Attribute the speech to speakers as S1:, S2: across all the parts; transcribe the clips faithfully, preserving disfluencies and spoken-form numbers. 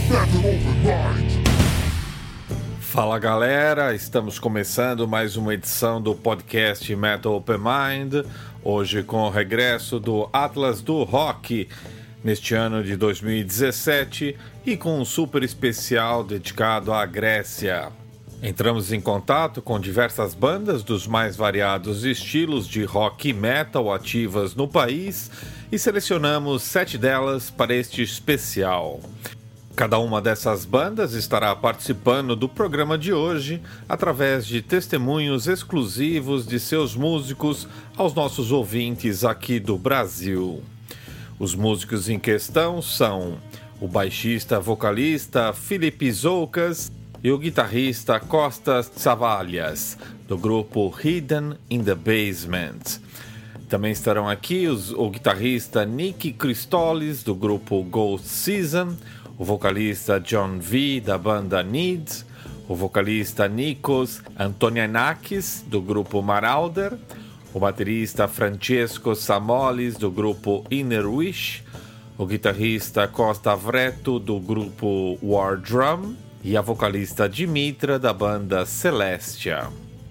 S1: Fala galera, estamos começando mais uma edição do podcast Metal Open Mind, hoje com o regresso do Atlas do Rock neste ano de dois mil e dezessete e com um super especial dedicado à Grécia. Entramos em contato com diversas bandas dos mais variados estilos de rock e metal ativas no país e selecionamos sete delas para este especial. Cada uma dessas bandas estará participando do programa de hoje através de testemunhos exclusivos de seus músicos aos nossos ouvintes aqui do Brasil. Os músicos em questão são o baixista vocalista Filipe Zoukas e o guitarrista Kostas Tsavalias, do grupo Hidden in the Basement. Também estarão aqui os, o guitarrista Nick Christolis, do grupo Ghost Season, o vocalista John V, da banda Need, o vocalista Nikos Antonianakis, do grupo Marauder, o baterista Francesco Samolis, do grupo Inner Wish, o guitarrista Costa Vreto, do grupo War Drum, e a vocalista Dimitra, da banda Celestia.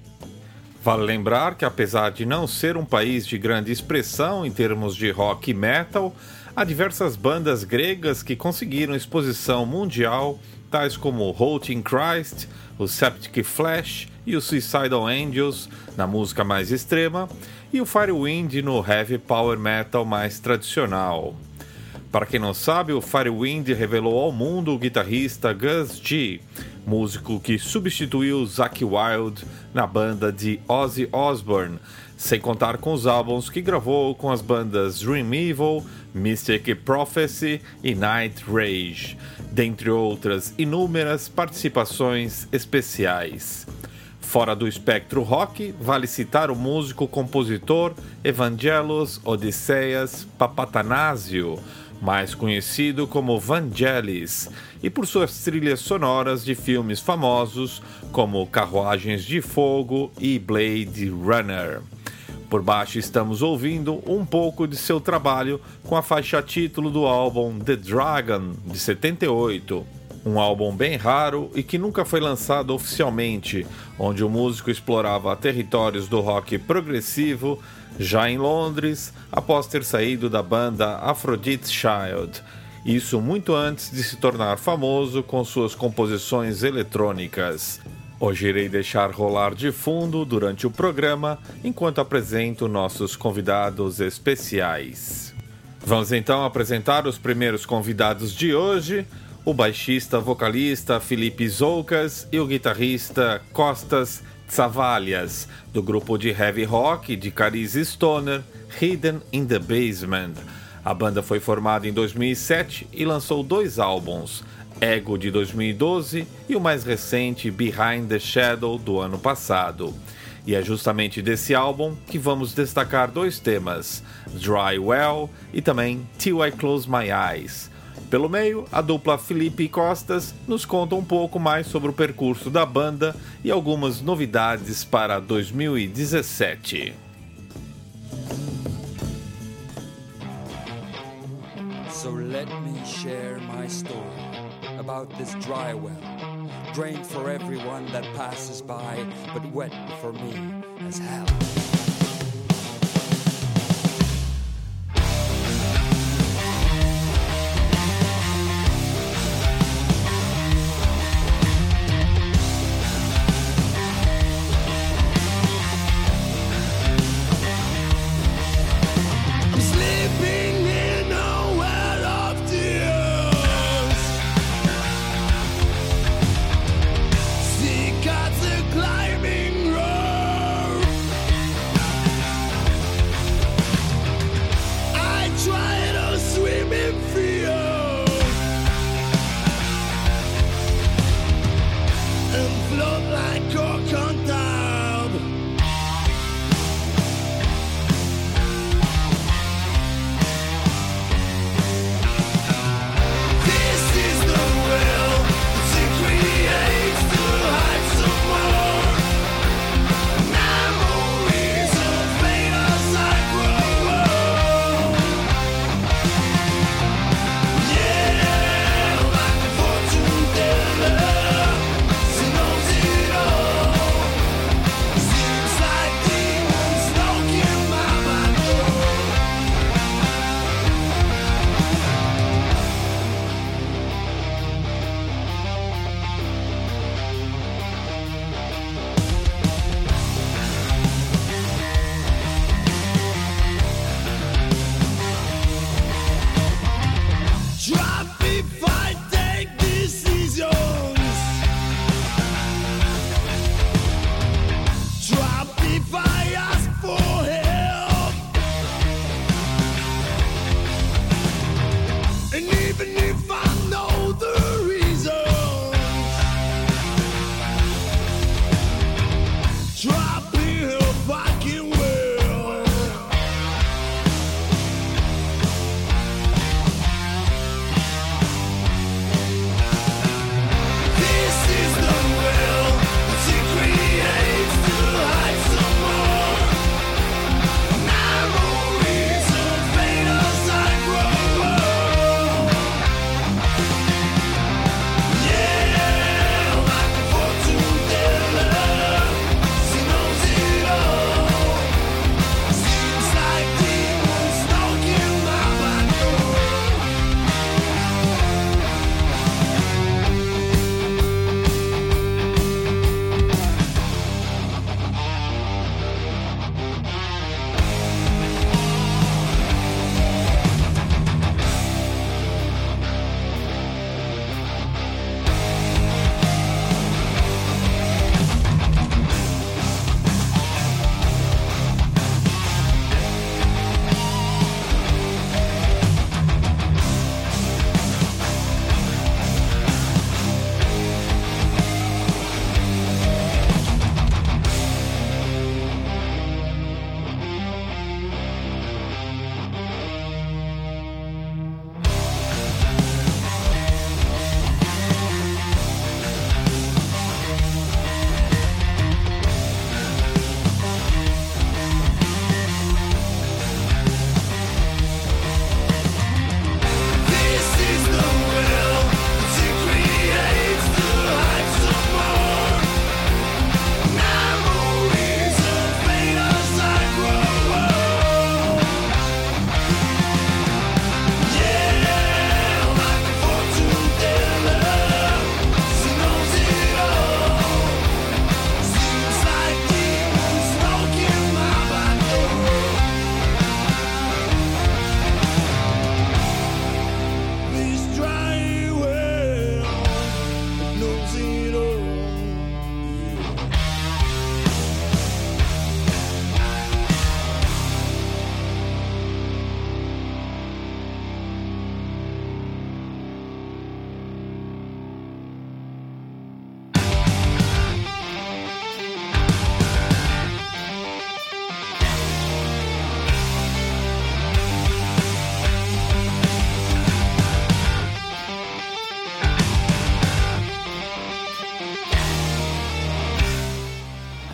S1: Vale lembrar que, apesar de não ser um país de grande expressão em termos de rock e metal, há diversas bandas gregas que conseguiram exposição mundial, tais como Halting Christ, o Septic Flesh e o Suicidal Angels na música mais extrema e o Firewind no heavy power metal mais tradicional. Para quem não sabe, o Firewind revelou ao mundo o guitarrista Gus G, músico que substituiu Zakk Wylde na banda de Ozzy Osbourne, sem contar com os álbuns que gravou com as bandas Dream Evil, Mystic Prophecy e Night Rage, dentre outras inúmeras participações especiais. Fora do espectro rock, vale citar o músico-compositor Evangelos Odisseias Papatanásio, mais conhecido como Vangelis, e por suas trilhas sonoras de filmes famosos como Carruagens de Fogo e Blade Runner. Por baixo estamos ouvindo um pouco de seu trabalho com a faixa título do álbum The Dragon, de setenta e oito, um álbum bem raro e que nunca foi lançado oficialmente, onde o músico explorava territórios do rock progressivo já em Londres, após ter saído da banda Aphrodite Child, isso muito antes de se tornar famoso com suas composições eletrônicas. Hoje irei deixar rolar de fundo durante o programa, enquanto apresento nossos convidados especiais. Vamos então apresentar os primeiros convidados de hoje, o baixista vocalista Filipe Zoukas e o guitarrista Kostas Tsavalias, do grupo de heavy rock de cariz stoner Hidden in the Basement. A banda foi formada em dois mil e sete e lançou dois álbuns, Ego de dois mil e doze e o mais recente Behind the Shadow do ano passado. E é justamente desse álbum que vamos destacar dois temas, Dry Well e também Till I Close My Eyes. Pelo meio, a dupla Filipe e Kostas nos conta um pouco mais sobre o percurso da banda e algumas novidades para dois mil e dezessete.
S2: So let me share my story about this dry well, drained for everyone that passes by, but wet for me as hell.
S3: Climbing road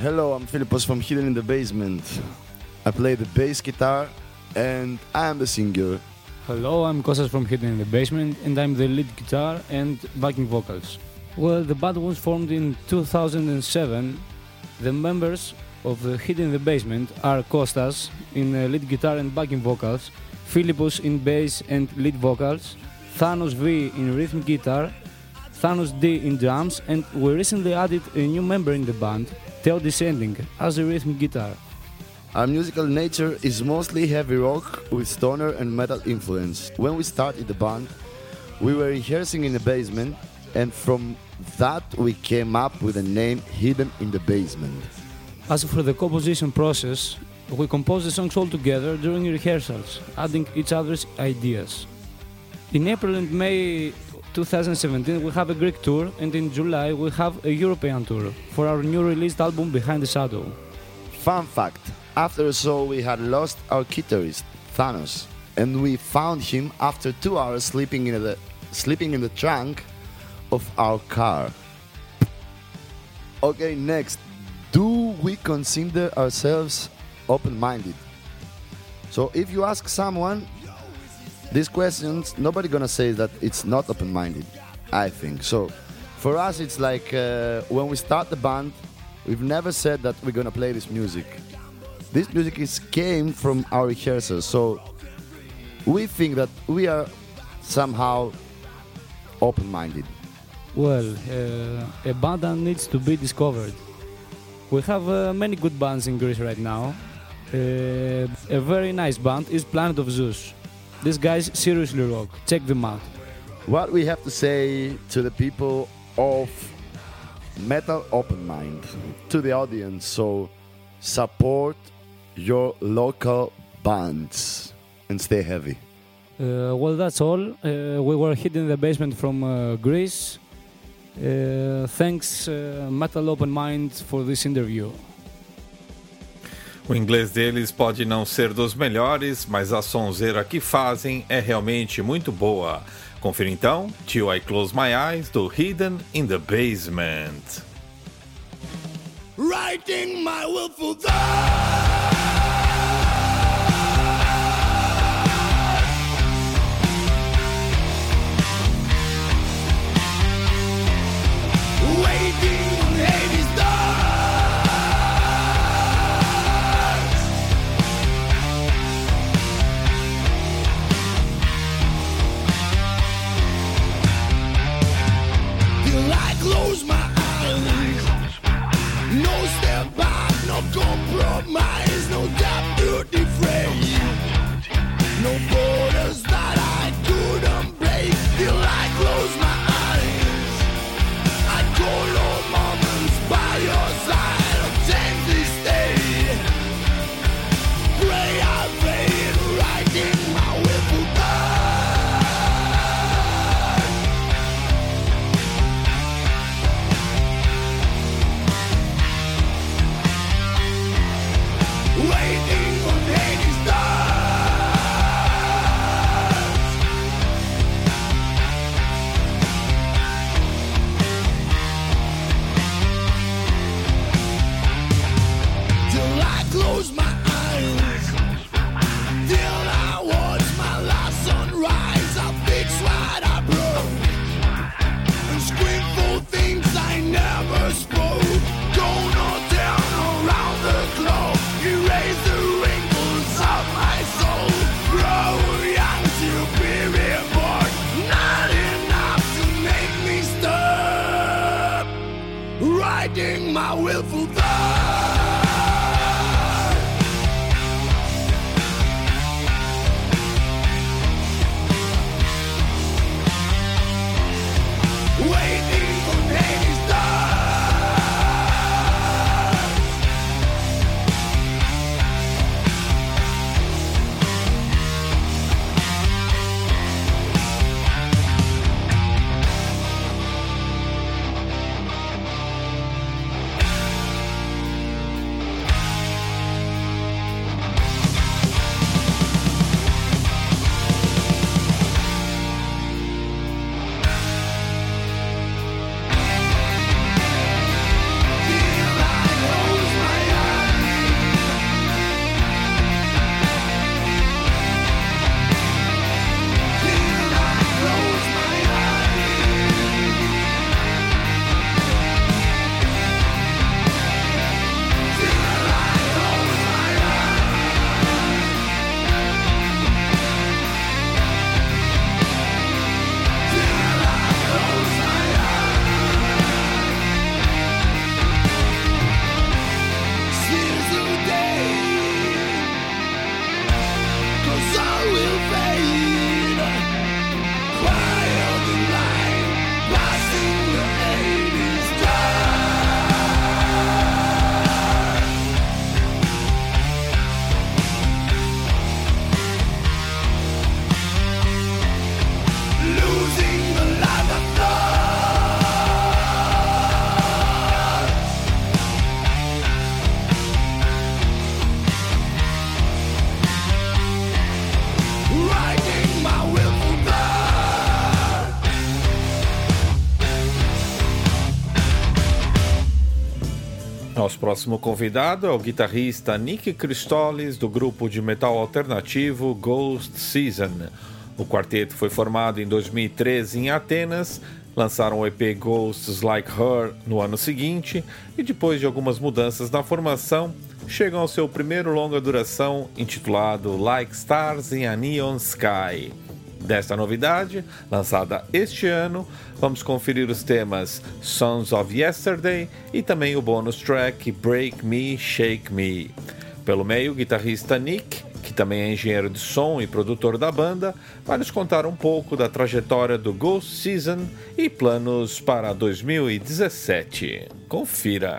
S3: Hello, I'm Philippos from Hidden in the Basement. I play the bass guitar and I am the singer.
S4: Hello, I'm Kostas from Hidden in the Basement and I'm the lead guitar and backing vocals. Well, the band was formed in two thousand seven. The members of the Hidden in the Basement are Kostas in uh, lead guitar and backing vocals, Philippos in bass and lead vocals, Thanos V in rhythm guitar, Thanos D in drums, and we recently added a new member in the band, Theo Descending, as a rhythm guitar.
S3: Our musical nature is mostly heavy rock with stoner and metal influence. When we started the band, we were rehearsing in the basement, and from that we came up with the name Hidden in the Basement.
S4: As for the composition process, we composed the songs all together during rehearsals, adding each other's ideas. In April and May twenty seventeen we have a Greek tour, and in July we have a European tour for our new released album Behind the Shadow.
S3: Fun fact, after a show we had lost our guitarist, Thanos, and we found him after two hours sleeping in the, sleeping in the trunk of our car. Okay, next, do we consider ourselves open-minded? So if you ask someone these questions, nobody gonna say that it's not open-minded, I think. So for us it's like uh, when we start the band, we've never said that we're gonna play this music. This music is came from our rehearsals, so we think that we are somehow open-minded.
S4: Well, uh, a band that needs to be discovered. We have uh, many good bands in Greece right now. Uh, a very nice band is Planet of Zeus. These guys seriously rock. Check them out.
S3: What we have to say to the people of Metal Open Mind, to the audience, so support your local bands and stay heavy.
S4: Uh, well, that's all. Uh, we were Hidden in the Basement from uh, Greece. Uh, thanks, uh, Metal Open Mind, for this interview.
S1: O inglês deles pode não ser dos melhores, mas a sonzeira que fazem é realmente muito boa. Confira então Till I Close My Eyes, do Hidden in the Basement.
S5: Writing my willful thoughts, waiting on Hades' doors, till I close my eyes. No step back, no compromise, no doubt to defray, no borders that I couldn't break. Till I close my eyes, I call all moments by your side, obtain this day. Pray I fade, writing my willful thoughts. Waiting on Hades' stars, till I close my eyes, till I watch my last sunrise. I'll fix what I broke and scream for things I never spoke. Gonna turn around the globe, erase the wrinkles of my soul. Grow young, superior born, not enough to make me stop writing my willful thoughts. Waiting on Hades' stars,
S1: Nosso próximo convidado é o guitarrista Nick Christolis, do grupo de metal alternativo Ghost Season. O quarteto foi formado em dois mil e treze em Atenas, lançaram o E P Ghosts Like Her no ano seguinte e, depois de algumas mudanças na formação, chegam ao seu primeiro longa duração intitulado Like Stars in a Neon Sky. Desta novidade, lançada este ano, vamos conferir os temas Sons of Yesterday e também o bônus track Break Me, Shake Me. Pelo meio, o guitarrista Nick, que também é engenheiro de som e produtor da banda, vai nos contar um pouco da trajetória do Ghost Season e planos para dois mil e dezessete. Confira!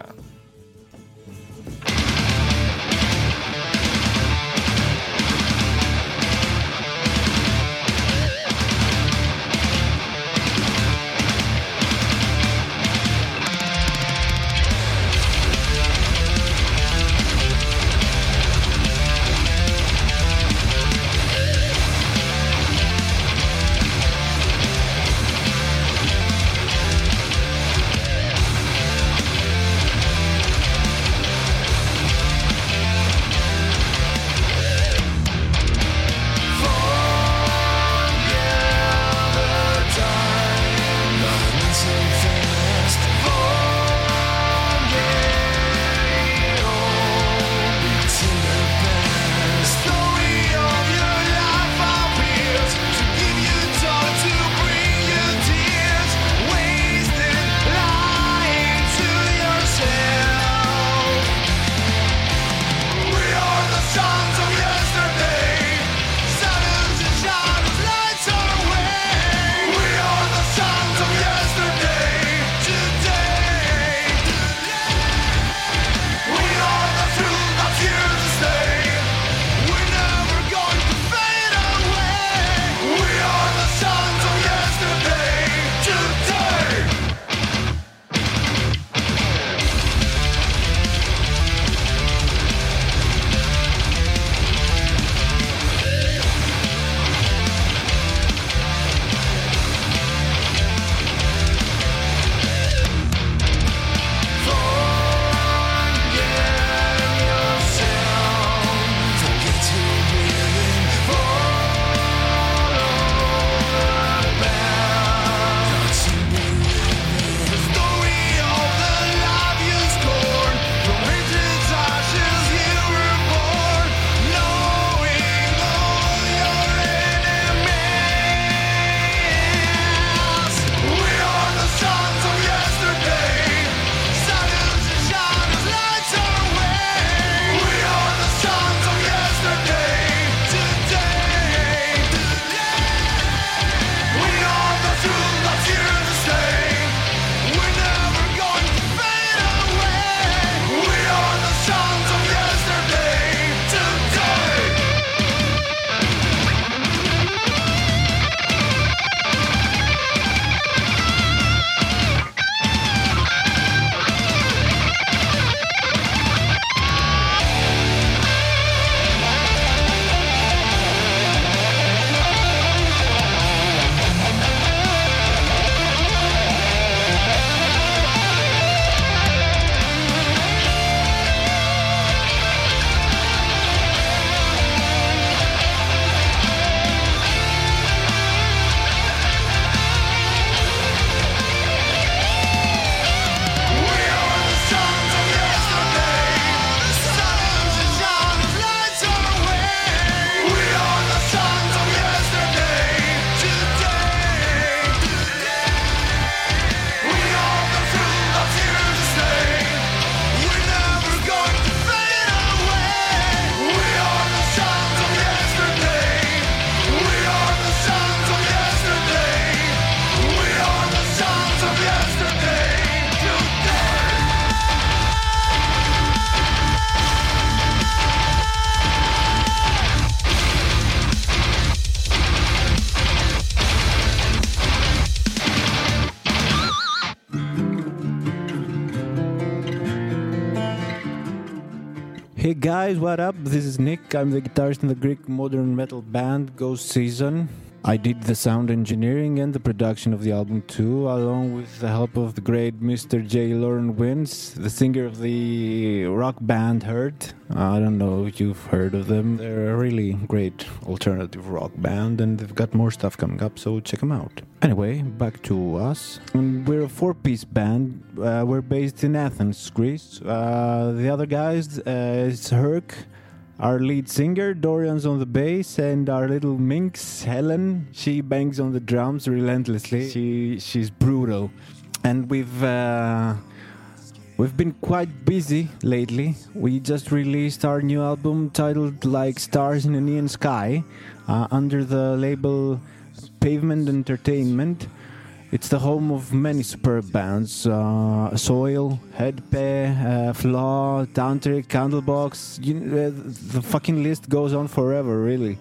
S6: Hey guys, what up? This is Nick. I'm the guitarist in the Greek modern metal band Ghost Season. I did the sound engineering and the production of the album too, along with the help of the great Mister J. Lauren Wins, the singer of the rock band Hurt. I don't know if you've heard of them. They're a really great alternative rock band, and they've got more stuff coming up, so check them out. Anyway, back to us. And we're a four-piece band. Uh, we're based in Athens, Greece. Uh, the other guys uh, is Herc, our lead singer. Dorian's on the bass, and our little minx, Helen, she bangs on the drums relentlessly. She she's brutal. And we've uh, we've been quite busy lately. We just released our new album titled Like Stars in a Neon Sky uh, under the label Pavement Entertainment. It's the home of many superb bands, uh, Soil, Headpay, uh, Flaw, Tantric, Candlebox. You, uh, the fucking list goes on forever, really.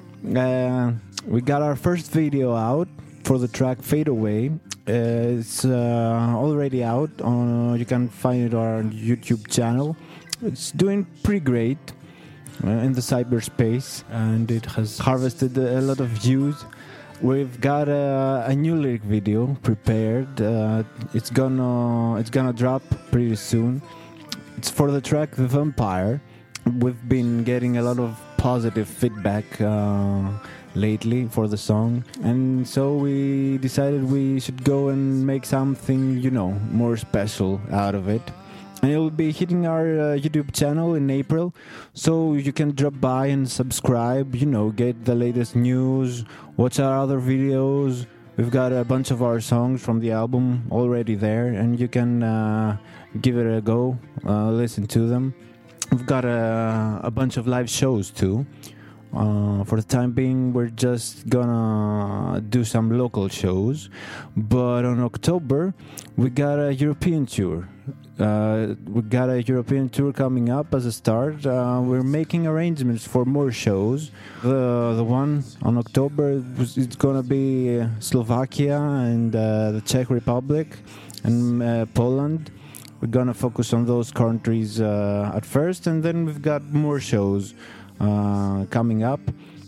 S6: Uh, we got our first video out for the track Fade Away. Uh, it's uh, already out. On, uh, you can find it on our YouTube channel. It's doing pretty great uh, in the cyberspace, and it has harvested a lot of views. We've got a, a new lyric video prepared. Uh, it's gonna it's gonna drop pretty soon. It's for the track The Vampire. We've been getting a lot of positive feedback uh, lately for the song, and so we decided we should go and make something, you know, more special out of it. And it will be hitting our uh, YouTube channel in April, so you can drop by and subscribe, you know, get the latest news, watch our other videos. We've got a bunch of our songs from the album already there, and you can uh, give it a go, uh, listen to them. We've got a, a bunch of live shows too. Uh, for the time being, we're just gonna do some local shows, but on October, we got a European tour. Uh, we got a European tour coming up as a start. Uh, we're making arrangements for more shows. The the one on October was, it's gonna be Slovakia and uh, the Czech Republic and uh, Poland. We're gonna focus on those countries uh, at first, and then we've got more shows uh, coming up.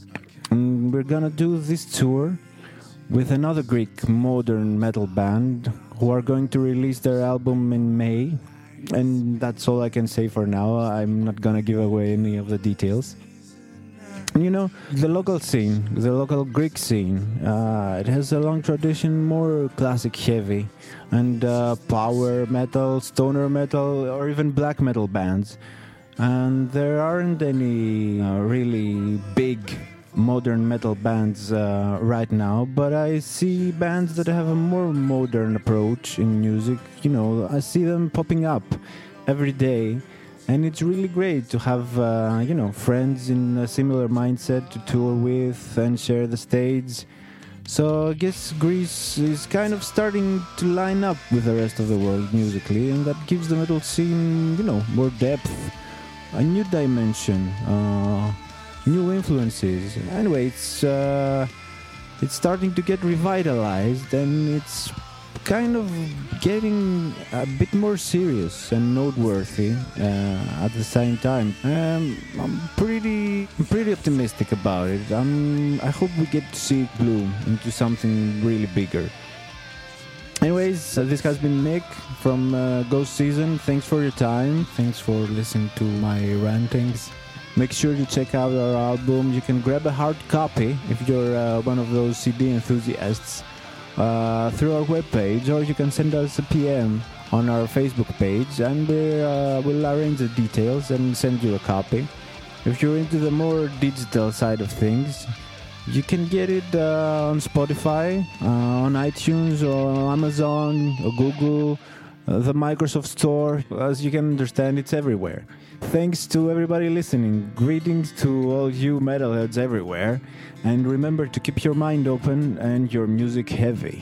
S6: And we're gonna do this tour with another Greek modern metal band who are going to release their album in May, and that's all I can say for now. I'm not gonna give away any of the details. And you know, the local scene, the local Greek scene, uh, it has a long tradition, more classic heavy, and uh, power metal, stoner metal, or even black metal bands. And there aren't any uh, really big modern metal bands uh, right now, but I see bands that have a more modern approach in music. You know, I see them popping up every day, and it's really great to have uh, you know, friends in a similar mindset to tour with and share the stage. So I guess Greece is kind of starting to line up with the rest of the world musically, and that gives the metal scene, you know, more depth, a new dimension, uh, new influences. Anyway, it's uh, it's starting to get revitalized, and it's kind of getting a bit more serious and noteworthy uh, at the same time. Um, I'm pretty, I'm pretty optimistic about it. I'm, I hope we get to see it bloom into something really bigger. Anyways, uh, this has been Nick from uh, Ghost Season. Thanks for your time. Thanks for listening to my rantings. Make sure to check out our album. You can grab a hard copy if you're uh, one of those C D enthusiasts uh, through our webpage, or you can send us a P M on our Facebook page, and we, uh, we'll arrange the details and send you a copy. If you're into the more digital side of things, you can get it uh, on Spotify, uh, on iTunes, or Amazon, or Google, uh, the Microsoft Store. As you can understand, it's everywhere. Thanks to everybody listening. Greetings to all you metalheads everywhere. And remember to keep your mind open and your music heavy.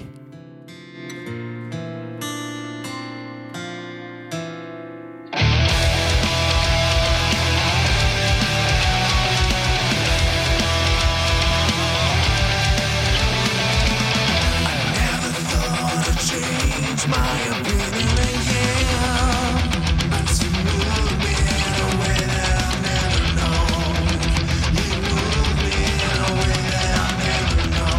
S5: Know.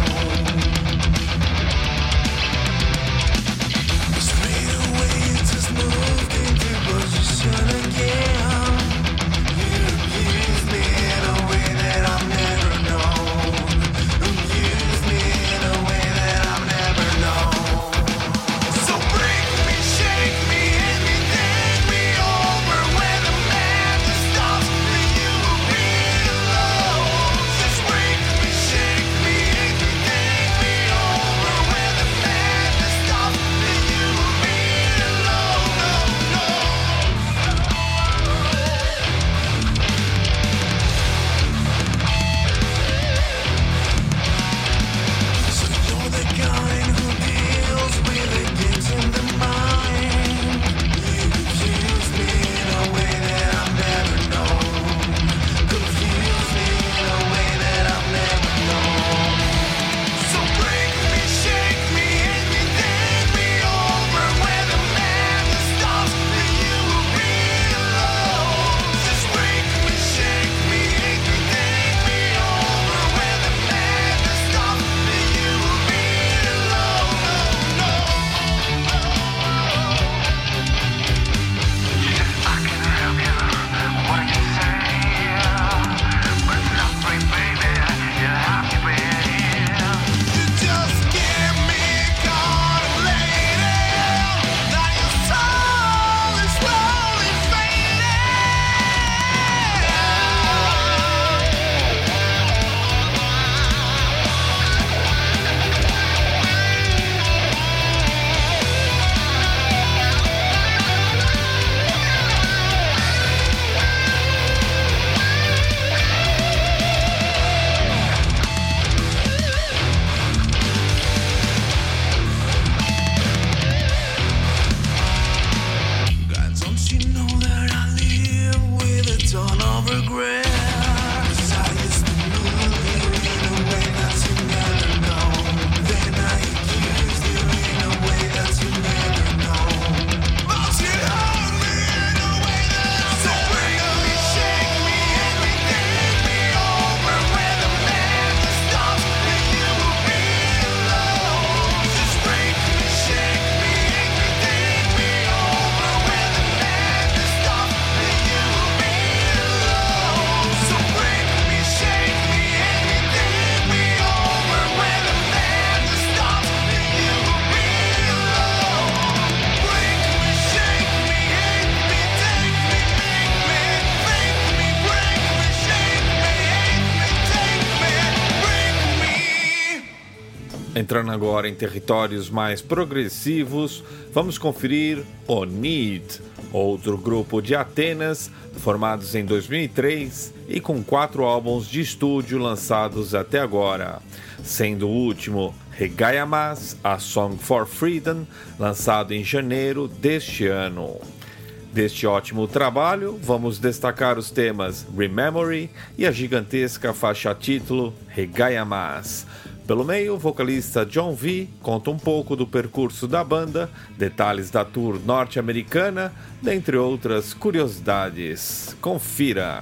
S1: Entrando agora em territórios mais progressivos, vamos conferir o Need, outro grupo de Atenas, formados em dois mil e três e com quatro álbuns de estúdio lançados até agora, sendo o último Regaiamas, A Song for Freedom, lançado em janeiro deste ano. Deste ótimo trabalho, vamos destacar os temas Rememory e a gigantesca faixa título Regaiamas. Pelo meio, o vocalista John V conta um pouco do percurso da banda, detalhes da tour norte-americana, dentre outras curiosidades. Confira!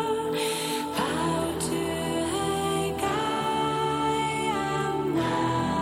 S7: Power to Haggai,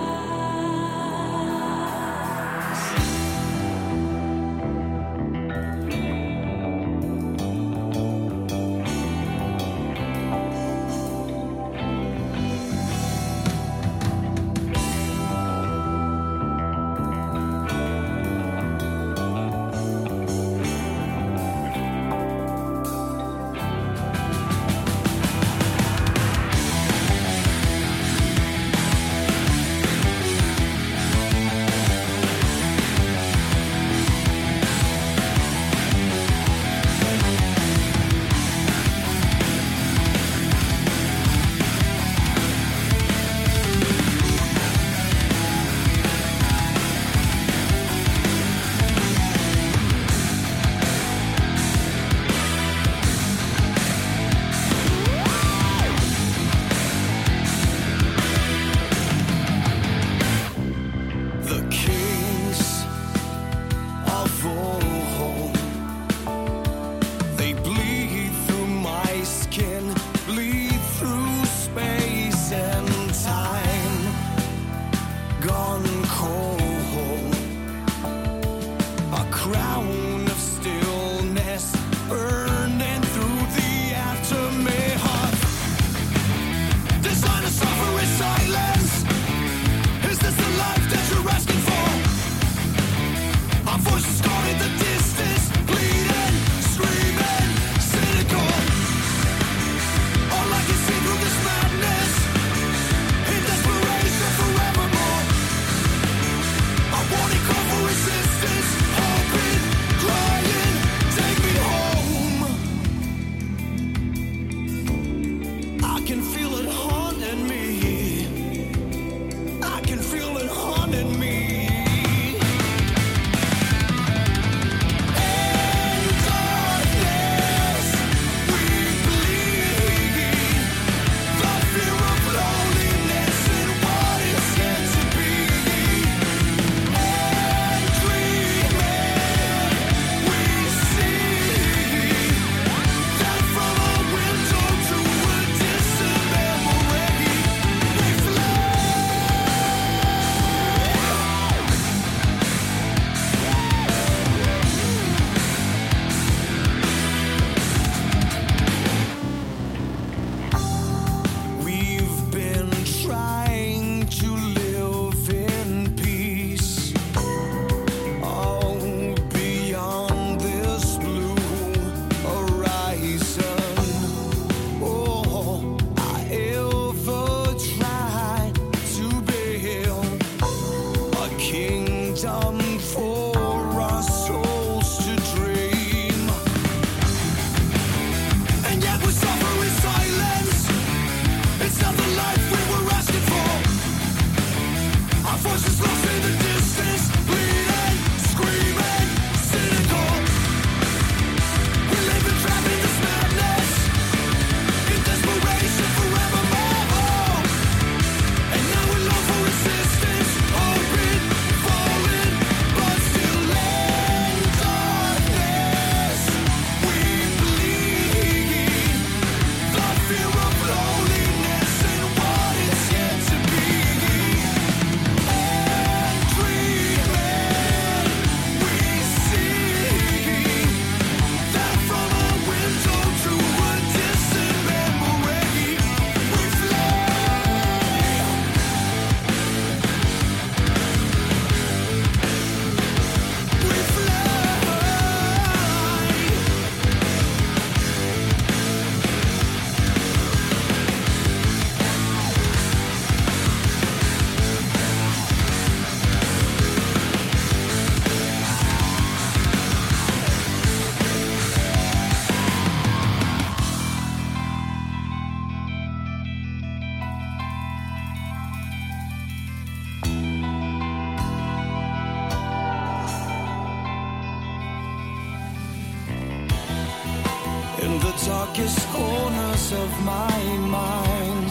S5: darkest corners of my mind.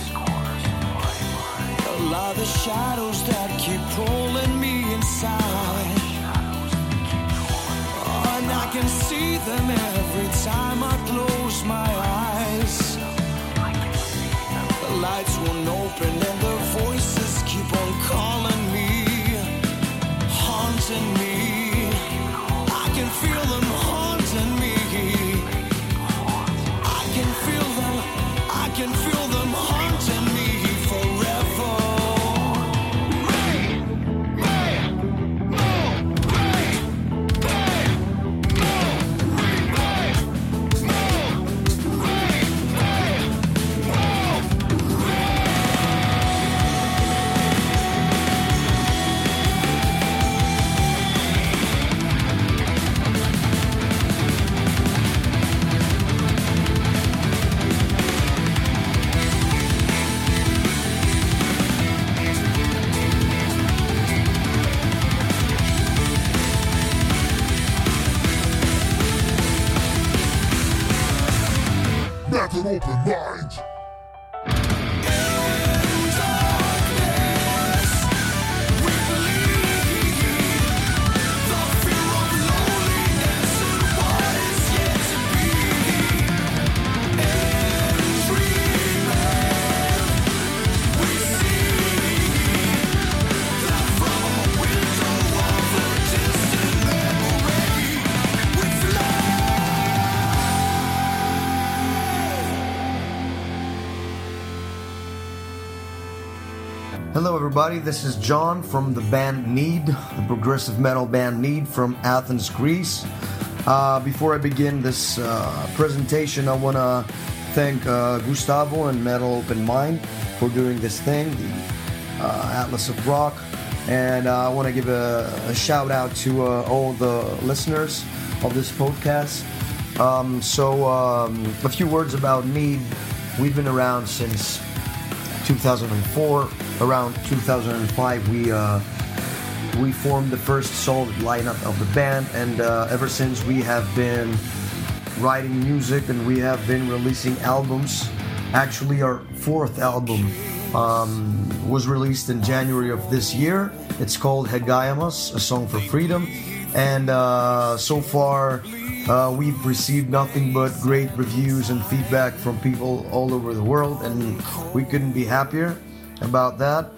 S5: Allow the shadows that keep pulling me inside. Oh, and I can see them every time I close my eyes. The lights won't open and the voices keep on calling me, haunting me. I can feel them haunting me. I can feel them, I can feel them haunting me forever.
S7: An open mind.
S8: Hello everybody, this is John from the band Need, the progressive metal band Need from Athens, Greece. Uh, before I begin this uh, presentation, I want to thank uh, Gustavo and Metal Open Mind for doing this thing, the uh, Atlas of Rock. And uh, I want to give a, a shout out to uh, all the listeners of this podcast. Um, so um, a few words about Need. We've been around since two thousand four. Around two thousand five, we uh, we formed the first solid lineup of the band, and uh, ever since we have been writing music and we have been releasing albums. Actually, our fourth album um, was released in January of this year. It's called Hegaiamos, a song for freedom, and uh, so far uh, we've received nothing but great reviews and feedback from people all over the world, and we couldn't be happier about that.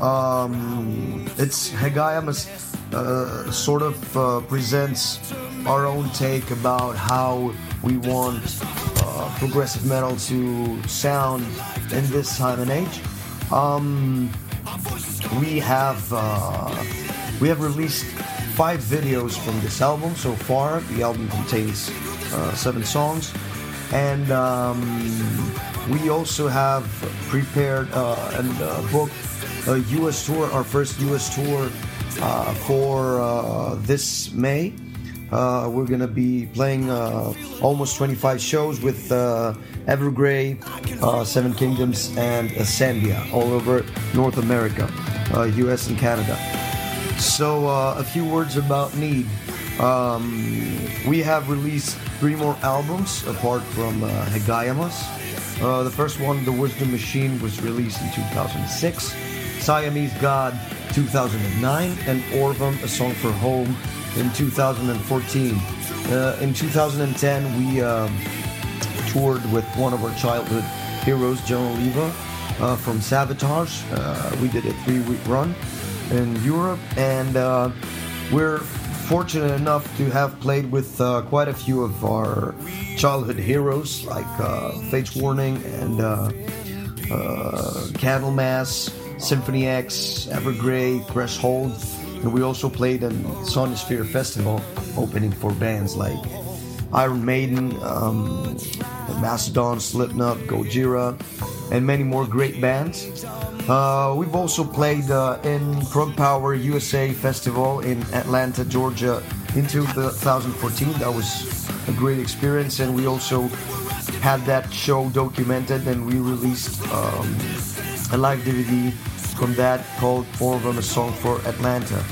S8: Um, it's Hegaiamos uh, sort of uh, presents our own take about how we want uh, progressive metal to sound in this time and age. Um, we have uh, we have released five videos from this album so far. The album contains uh, seven songs, and um, we also have prepared uh, and uh, booked a U S tour, our first U S tour uh, for uh, this May. Uh, we're going to be playing uh, almost twenty-five shows with uh, Evergrey, uh, Seven Kingdoms, and Ascendia all over North America, uh, U S and Canada. So uh, a few words about Need. Um, we have released three more albums apart from uh, Hegaiamos. Uh, the first one, The Wisdom Machine, was released in two thousand six, Siamese God two thousand nine, and Orvam, A Song for Home, in two thousand fourteen. Uh, in two thousand ten, we um, toured with one of our childhood heroes, John Oliva, uh, from Sabotage. Uh, we did a three-week run in Europe, and uh, we're fortunate enough to have played with uh, quite a few of our childhood heroes, like uh, Fates Warning and uh, uh, Candlemass, Symphony X, Evergrey, Threshold. And we also played in Sonisphere Festival, opening for bands like Iron Maiden, um, Mastodon, Slipknot, Gojira, and many more great bands. Uh, we've also played uh, in Prog Power U S A Festival in Atlanta, Georgia in two thousand fourteen. That was a great experience, and we also had that show documented, and we released um, a live D V D from that called Orvam, A Song for Atlanta.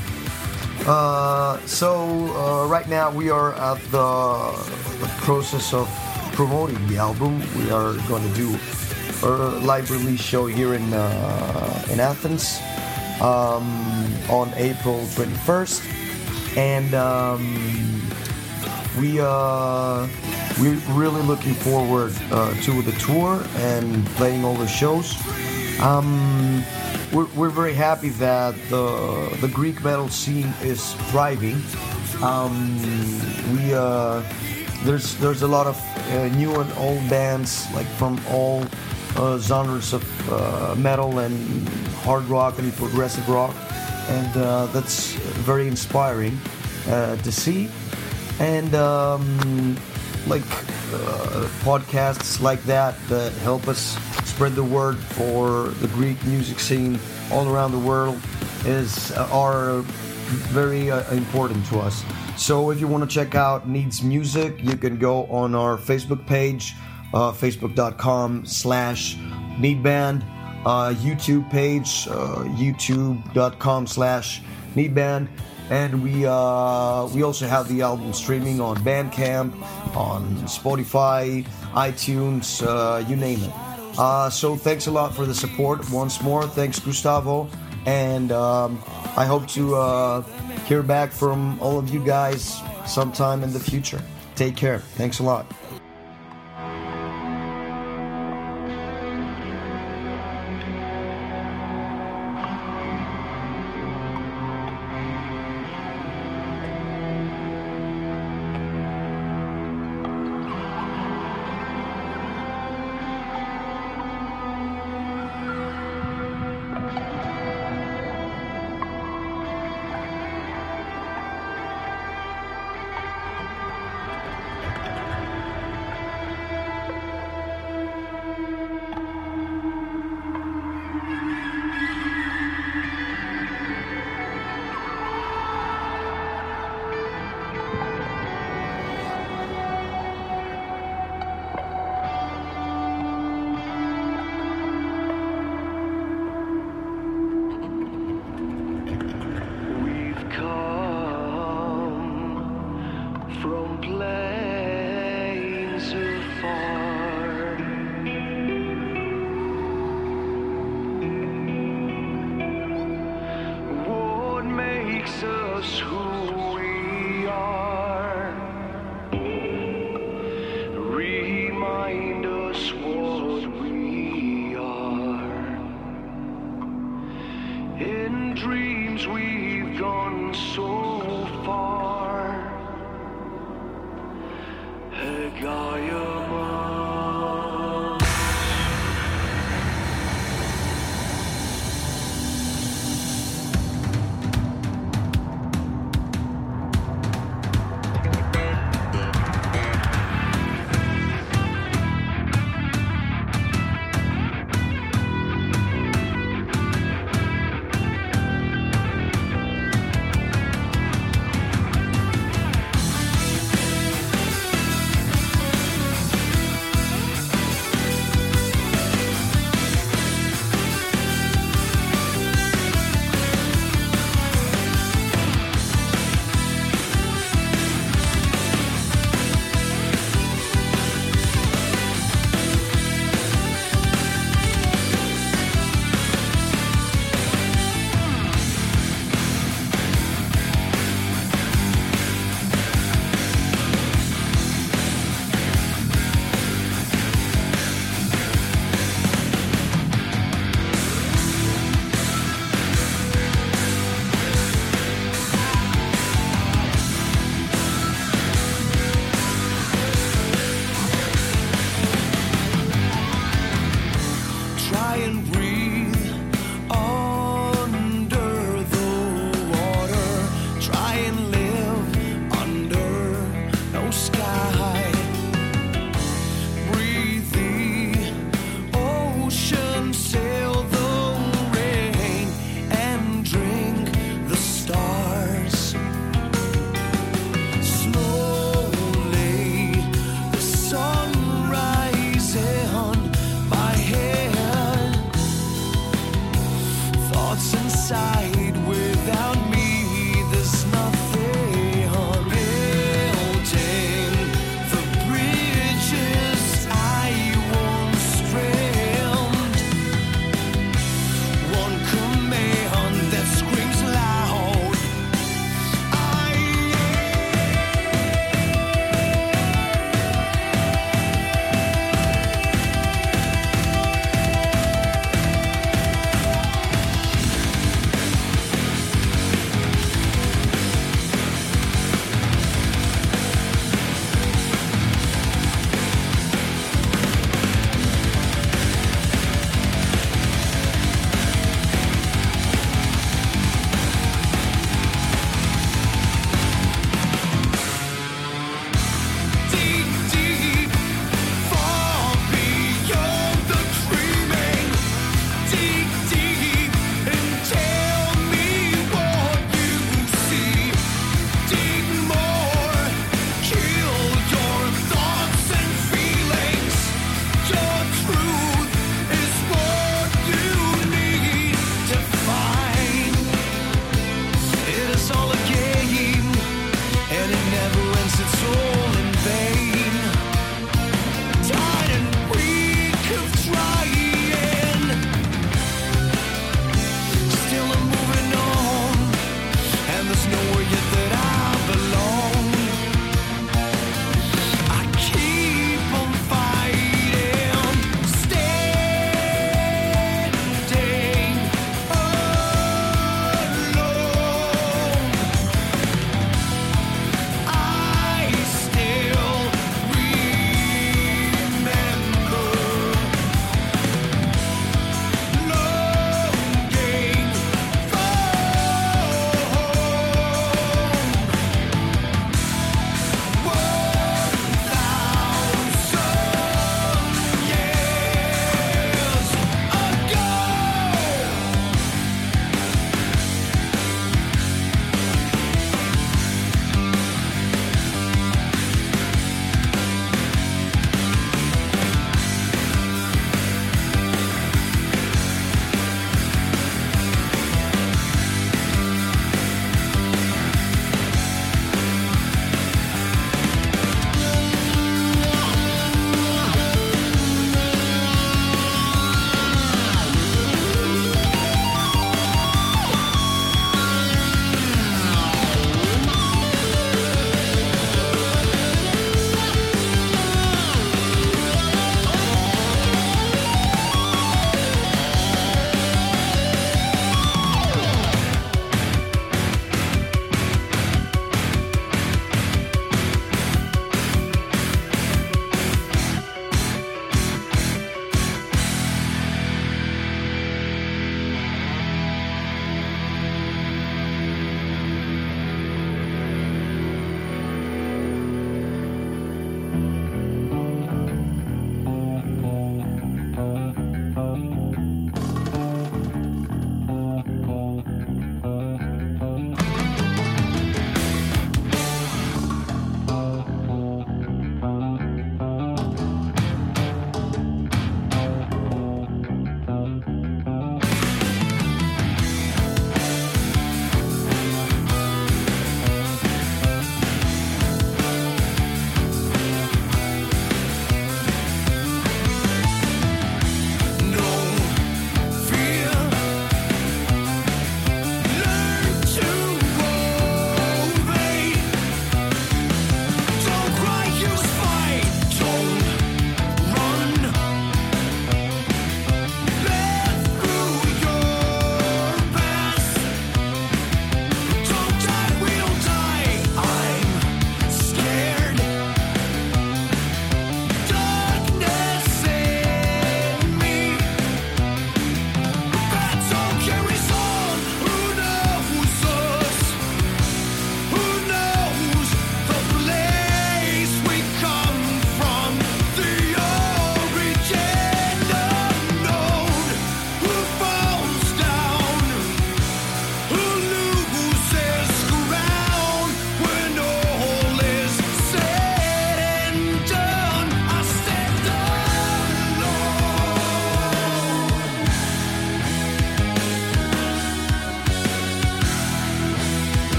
S8: Uh, so uh, right now we are at the, the process of promoting the album. We are going to do a live release show here in uh, in Athens um, on April twenty-first, and um, we uh, we're really looking forward uh, to the tour and playing all the shows. Um, we're, we're very happy that the the Greek metal scene is thriving. Um, we uh, there's there's a lot of uh, new and old bands, like from all uh, genres of uh, metal and hard rock and progressive rock, and uh, that's very inspiring uh, to see. And um, like uh, podcasts like that that help us spread the word for the Greek music scene all around the world is uh, are very uh, important to us. So if you want to check out Needs Music, you can go on our Facebook page, uh, facebook.com slash needband, uh, YouTube page, uh, youtube.com slash needband, and we uh, we also have the album streaming on Bandcamp, on Spotify, iTunes, uh, you name it. Uh, so thanks a lot for the support once more. Thanks, Gustavo, and um, I hope to uh, hear back from all of you guys sometime in the future. Take care. Thanks a lot.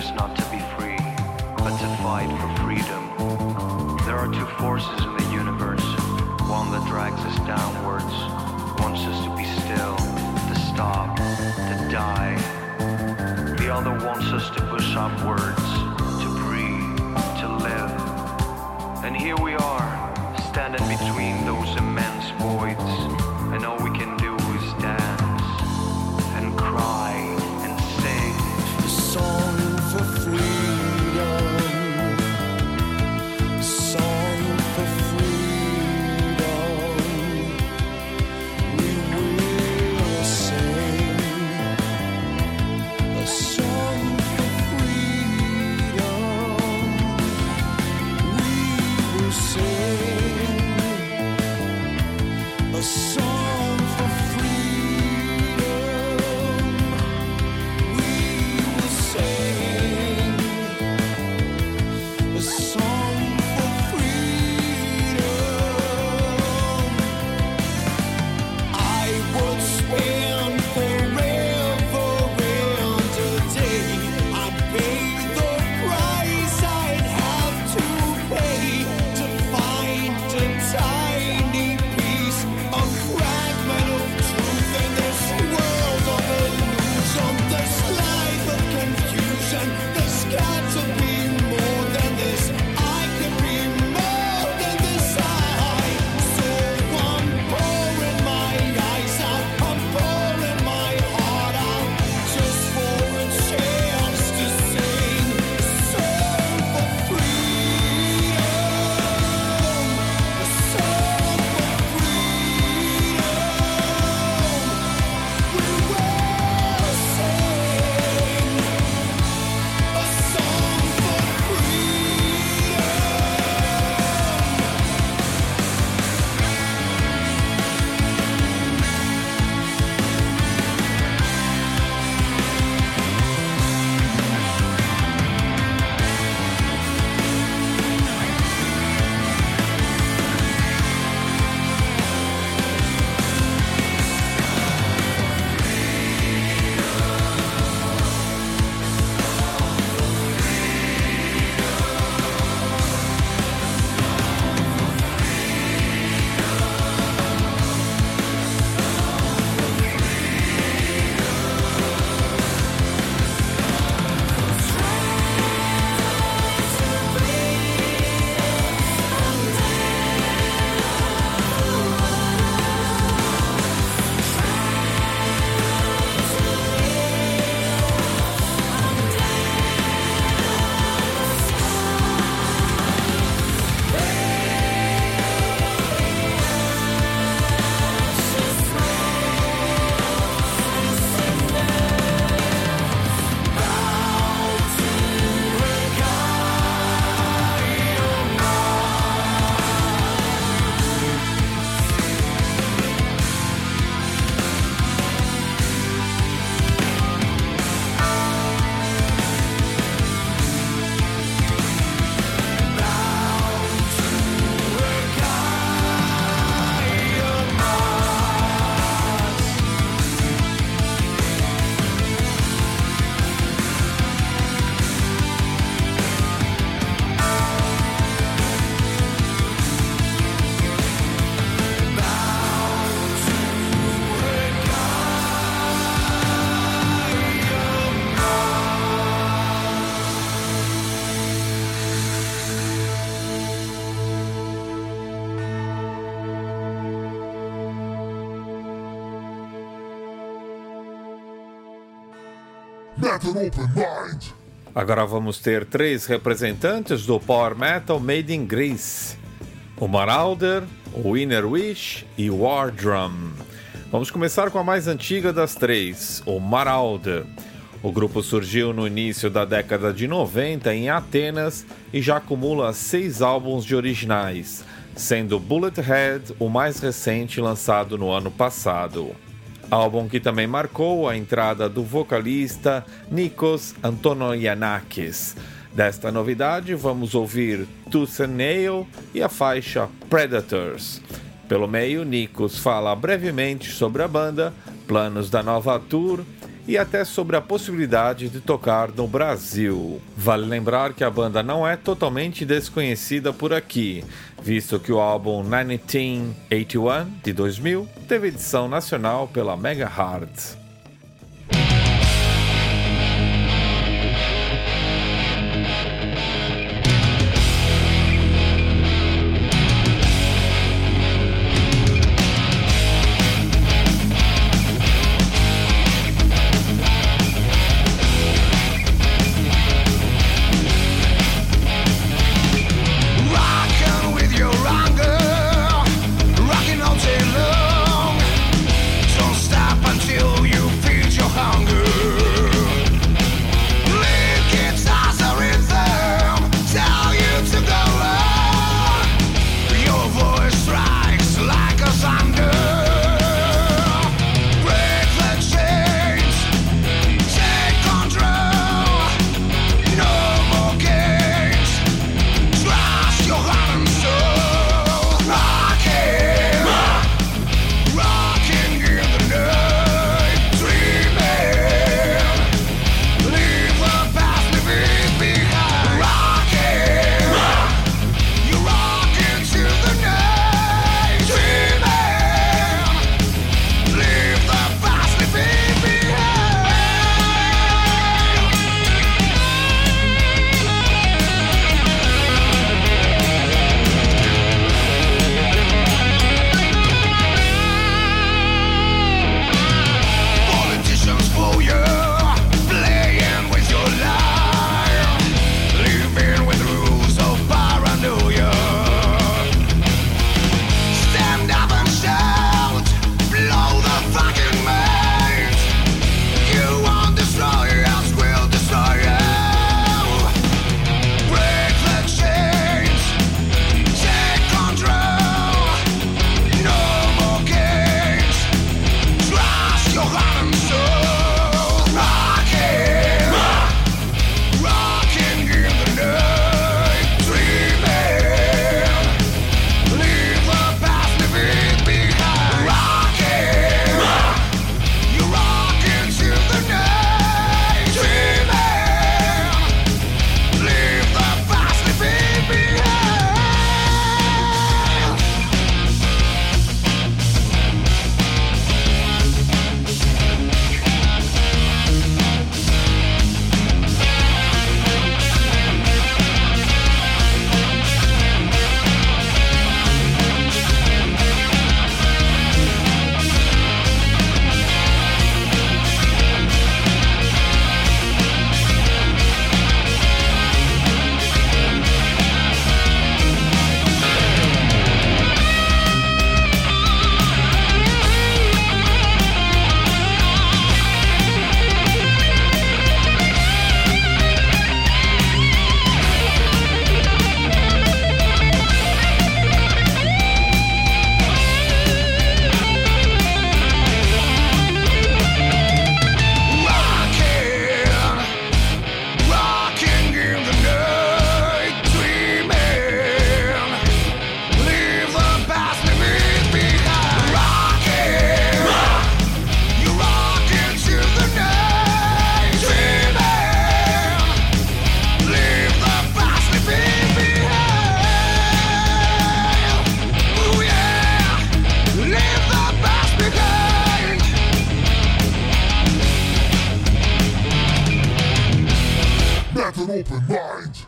S9: is not to be free, but to fight for freedom. There are two forces in the universe, one that drags us downwards, wants us to be still, to stop, to die. The other wants us to push upwards, to breathe, to live. And here we are, standing between those immense voids, and all we can do is dance, and cry, and sing.
S5: A song for freedom. A song for freedom. We will sing. A song for freedom. We will sing. A song for freedom. We will sing. A song for freedom. I would spend forever and a day. I'd pay the price I'd have to pay to find a tiny piece, a fragment of truth in this world of illusion, this life of confusion. There's got to be more than this. I can be more than this. I so I'm pouring my eyes out, I'm pouring my heart out, just for a chance to sing a song for freedom. A song for freedom. We will sing a song for
S7: Metal Open Mind.
S1: Agora vamos ter três representantes do Power Metal Made in Greece: o Marauder, o Inner Wish e o War Drum. Vamos começar com a mais antiga das três, o Marauder. O grupo surgiu no início da década de noventa em Atenas e já acumula seis álbuns de originais, sendo Bullet Head o mais recente, lançado no ano passado. Álbum que também marcou a entrada do vocalista Nikos Antonogiannakis. Desta novidade, vamos ouvir Tooth and Nail e a faixa Predators. Pelo meio, Nikos fala brevemente sobre a banda, planos da nova tour e até sobre a possibilidade de tocar no Brasil. Vale lembrar que a banda não é totalmente desconhecida por aqui, visto que o álbum mil novecentos e oitenta e um, de dois mil, teve edição nacional pela Mega Hard.
S7: open mind.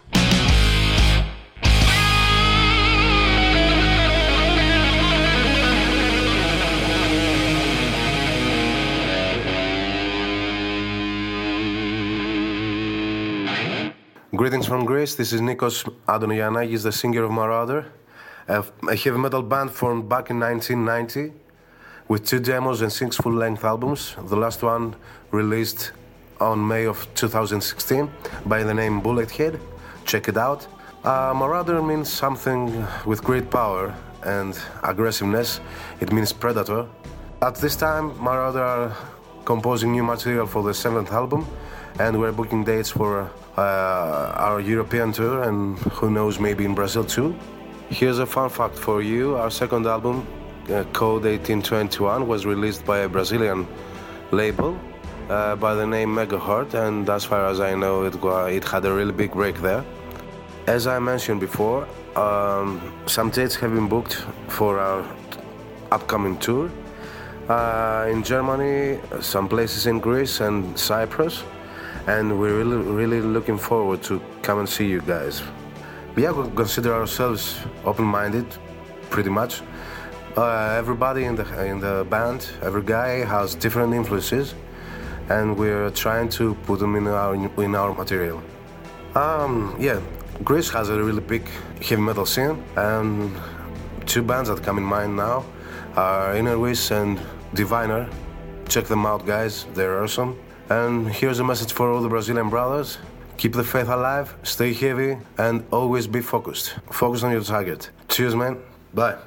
S10: Greetings from Greece, this is Nikos Adonianagis, the singer of Marauder, a heavy metal band formed back in nineteen ninety with two demos and six full-length albums, the last one released on May of two thousand sixteen by the name Bullethead. Check it out. Uh, Marauder means something with great power and aggressiveness. It means predator. At this time, Marauder are composing new material for the seventh album, and we're booking dates for uh, our European tour, and who knows, maybe in Brazil too. Here's a fun fact for you. Our second album, uh, Code eighteen twenty-one, was released by a Brazilian label, uh, by the name Megaheart, and as far as I know, it wa- it had a really big break there. As I mentioned before, um, some dates have been booked for our upcoming tour. Uh, in Germany, some places in Greece and Cyprus, and we're really, really looking forward to come and see you guys. Yeah, we consider ourselves open-minded, pretty much. Uh, everybody in the in the band, every guy has different influences, and we're trying to put them in our in our material. Um, yeah, Greece has a really big heavy metal scene, and two bands that come in mind now are Inner Wish and Diviner. Check them out, guys, they're awesome. And here's a message for all the Brazilian brothers: keep the faith alive, stay heavy, and always be focused. Focus on your target. Cheers, man. Bye.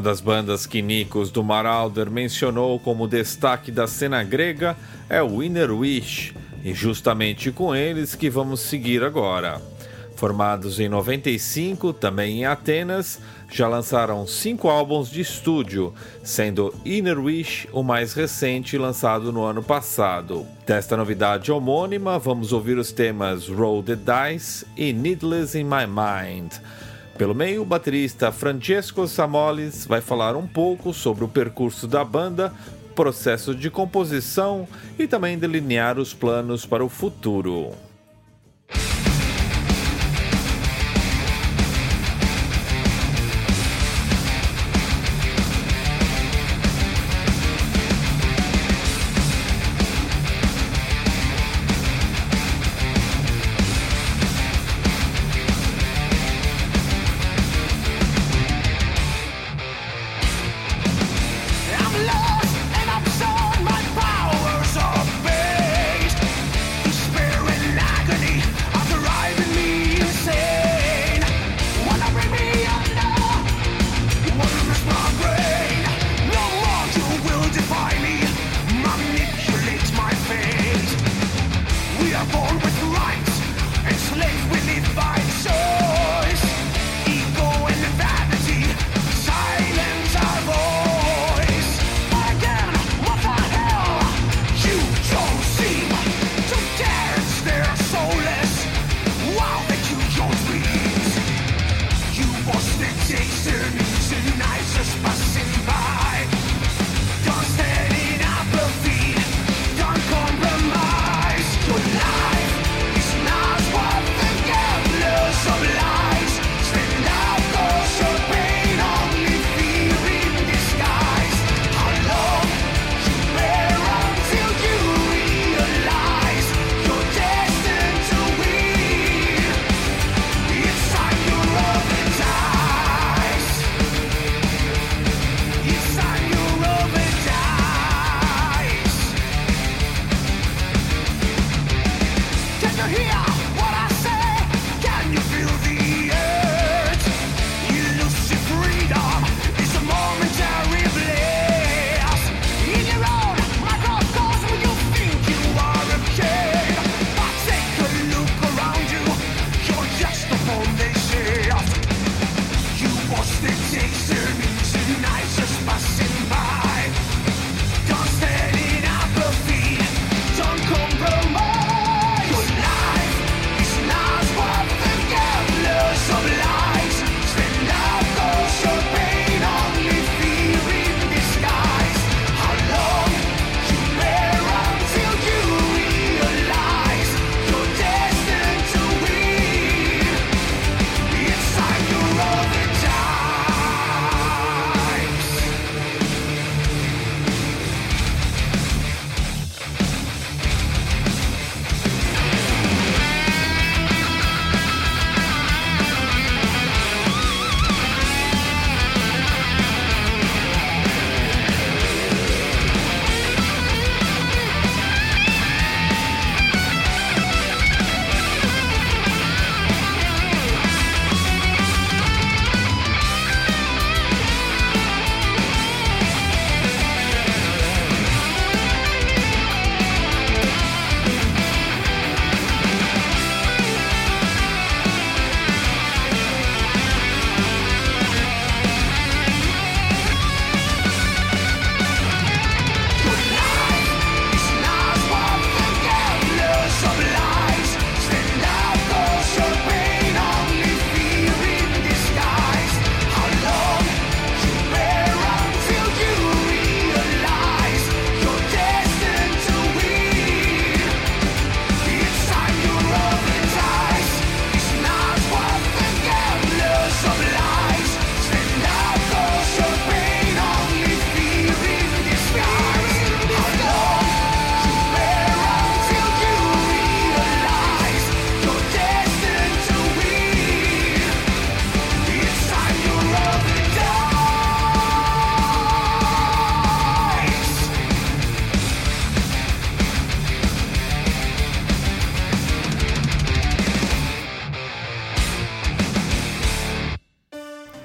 S1: das bandas que Nikos do Marauder mencionou como destaque da cena grega é o Inner Wish, e justamente com eles que vamos seguir agora. Formados em noventa e cinco, também em Atenas, já lançaram cinco álbuns de estúdio, sendo Inner Wish o mais recente, lançado no ano passado. Desta novidade homônima, vamos ouvir os temas Roll the Dice e Needless in My Mind. Pelo meio, o baterista Francesco Samolis vai falar um pouco sobre o percurso da banda, processo de composição e também delinear os planos para o futuro.
S5: My powers are based. The spirit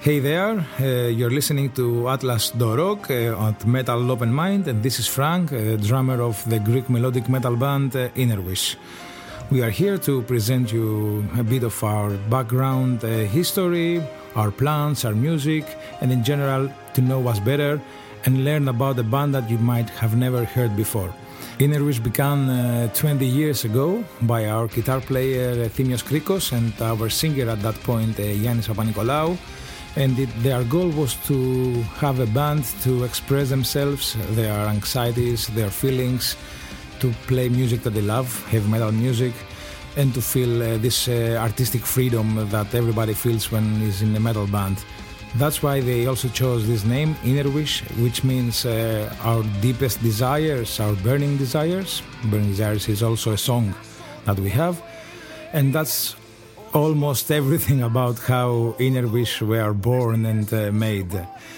S11: Hey there, uh, you're listening to Atlas do Rock uh, at Metal Open Mind, and this is Frank, uh, drummer of the Greek melodic metal band uh, Innerwish. We are here to present you a bit of our background uh, history, our plans, our music, and in general to know us better and learn about a band that you might have never heard before. Innerwish began uh, twenty years ago by our guitar player uh, Thimios Krikos and our singer at that point uh, Yannis Papanikolaou, and it, their goal was to have a band to express themselves, their anxieties, their feelings, to play music that they love, heavy metal music, and to feel uh, this uh, artistic freedom that everybody feels when is in a metal band. That's why they also chose this name, Innerwish, which means uh, our deepest desires, our burning desires. Burning Desires is also a song that we have. And that's almost everything about how Innerwish were born and uh, made.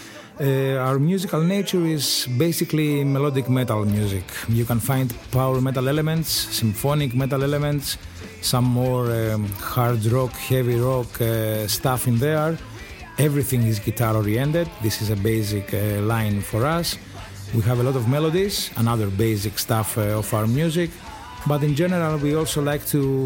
S11: Uh, our musical nature is basically melodic metal music. You can find power metal elements, symphonic metal elements, some more um, hard rock, heavy rock uh, stuff in there. Everything is guitar oriented. This is a basic uh, line for us. We have a lot of melodies and other basic stuff uh, of our music, but in general we also like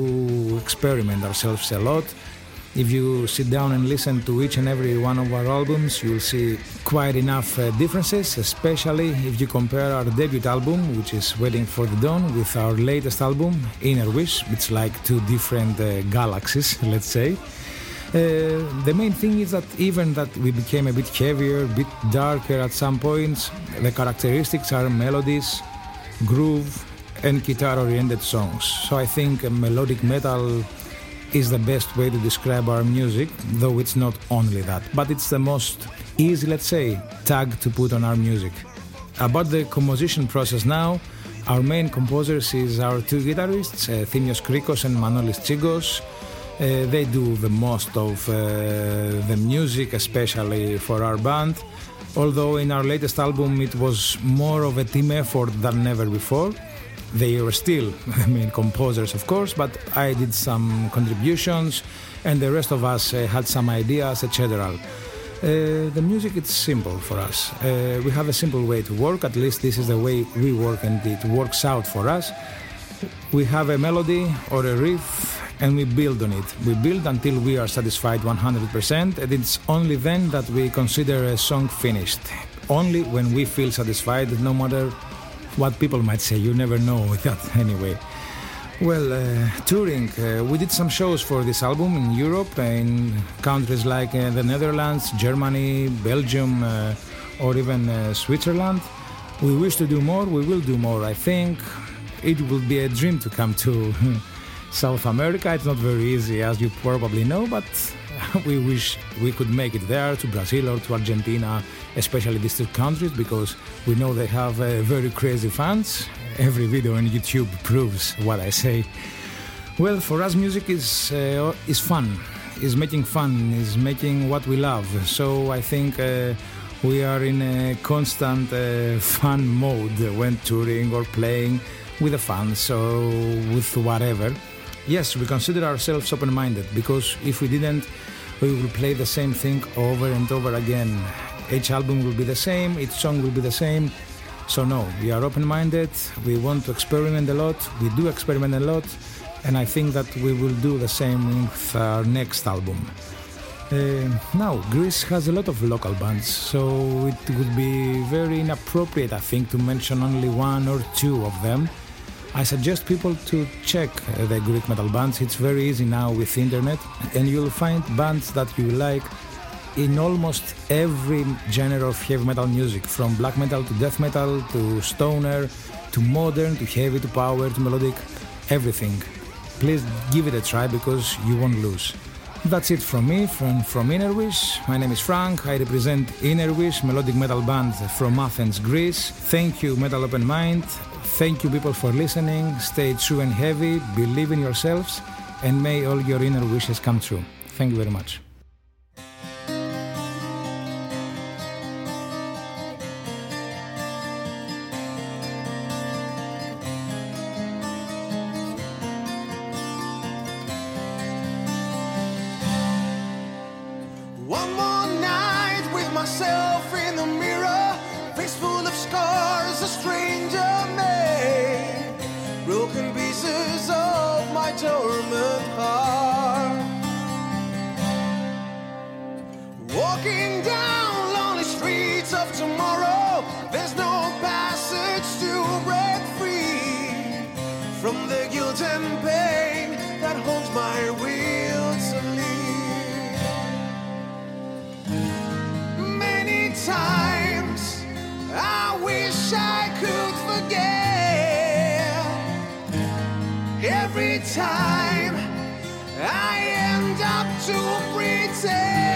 S11: to experiment ourselves a lot. If you sit down and listen to each and every one of our albums, you'll see quite enough uh, differences, especially if you compare our debut album, which is Waiting for the Dawn, with our latest album, Innerwish. It's like two different uh, galaxies, let's say. Uh, the main thing is that even that we became a bit heavier, a bit darker at some points, the characteristics are melodies, groove, and guitar-oriented songs. So I think uh, melodic metal is the best way to describe our music, though it's not only that, but it's the most easy, let's say, tag to put on our music. About the composition process now, our main composers is our two guitarists, uh, Thimios Krikos and Manolis Tsigos. Uh, they do the most of uh, the music, especially for our band, although in our latest album it was more of a team effort than ever before. They were still the main composers, of course, but I did some contributions and the rest of us uh, had some ideas, et cetera. Uh, the music, it's simple for us. Uh, we have a simple way to work, at least this is the way we work and it works out for us. We have a melody or a riff and we build on it. We build until we are satisfied one hundred percent, and it's only then that we consider a song finished. Only when we feel satisfied, no matter what people might say. You never know that anyway. Well, uh, touring. Uh, we did some shows for this album in Europe, in countries like uh, the Netherlands, Germany, Belgium, uh, or even uh, Switzerland. We wish to do more. We will do more, I think. It will be a dream to come to South America. It's not very easy, as you probably know, but we wish we could make it there, to Brazil or to Argentina, especially these two countries, because we know they have uh, very crazy fans. Every video on YouTube proves what I say. Well, for us music is uh, is fun, is making fun, is making what we love. So I think uh, we are in a constant uh, fun mode when touring or playing with the fans or with whatever. Yes, we consider ourselves open-minded, because if we didn't, we will play the same thing over and over again. Each album will be the same, each song will be the same. So no, we are open-minded, we want to experiment a lot, we do experiment a lot, and I think that we will do the same with our next album. Uh, now, Greece has a lot of local bands, so it would be very inappropriate, I think, to mention only one or two of them. I suggest people to check uh, the Greek metal bands. It's very easy now with internet, and you'll find bands that you like in almost every genre of heavy metal music, from black metal to death metal to stoner to modern to heavy to power to melodic, everything. Please give it a try, because you won't lose. That's it from me, from, from Innerwish. My name is Frank. I represent Innerwish, melodic metal band from Athens, Greece. Thank you, Metal Open Mind. Thank you, people, for listening. Stay true and heavy, believe in yourselves, and may all your inner wishes come true. Thank you very much.
S5: One more night. myself in the mirror, face full of scars, a stranger made, broken pieces of my torment heart. Walking down lonely streets of tomorrow, there's no passage to break free from the guilt and pain that holds my will to leave. Many times I wish I could forget. Every time I end up to pretend.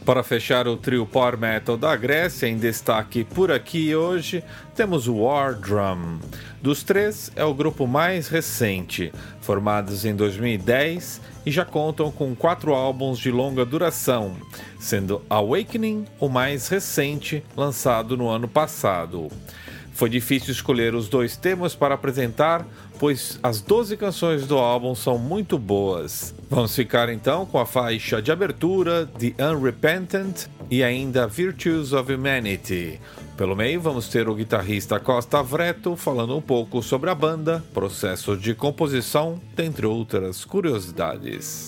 S1: Para fechar o trio Power Metal da Grécia, em destaque por aqui hoje, temos o War Drum. Dos três, é o grupo mais recente, formados em dois mil e dez e já contam com quatro álbuns de longa duração, sendo Awakening o mais recente, lançado no ano passado. Foi difícil escolher os dois temas para apresentar, pois as doze canções do álbum são muito boas. Vamos ficar então com a faixa de abertura, The Unrepentant, e ainda Virtues of Humanity. Pelo meio, vamos ter o guitarrista Costa Avretto falando um pouco sobre a banda, processo de composição, dentre outras curiosidades.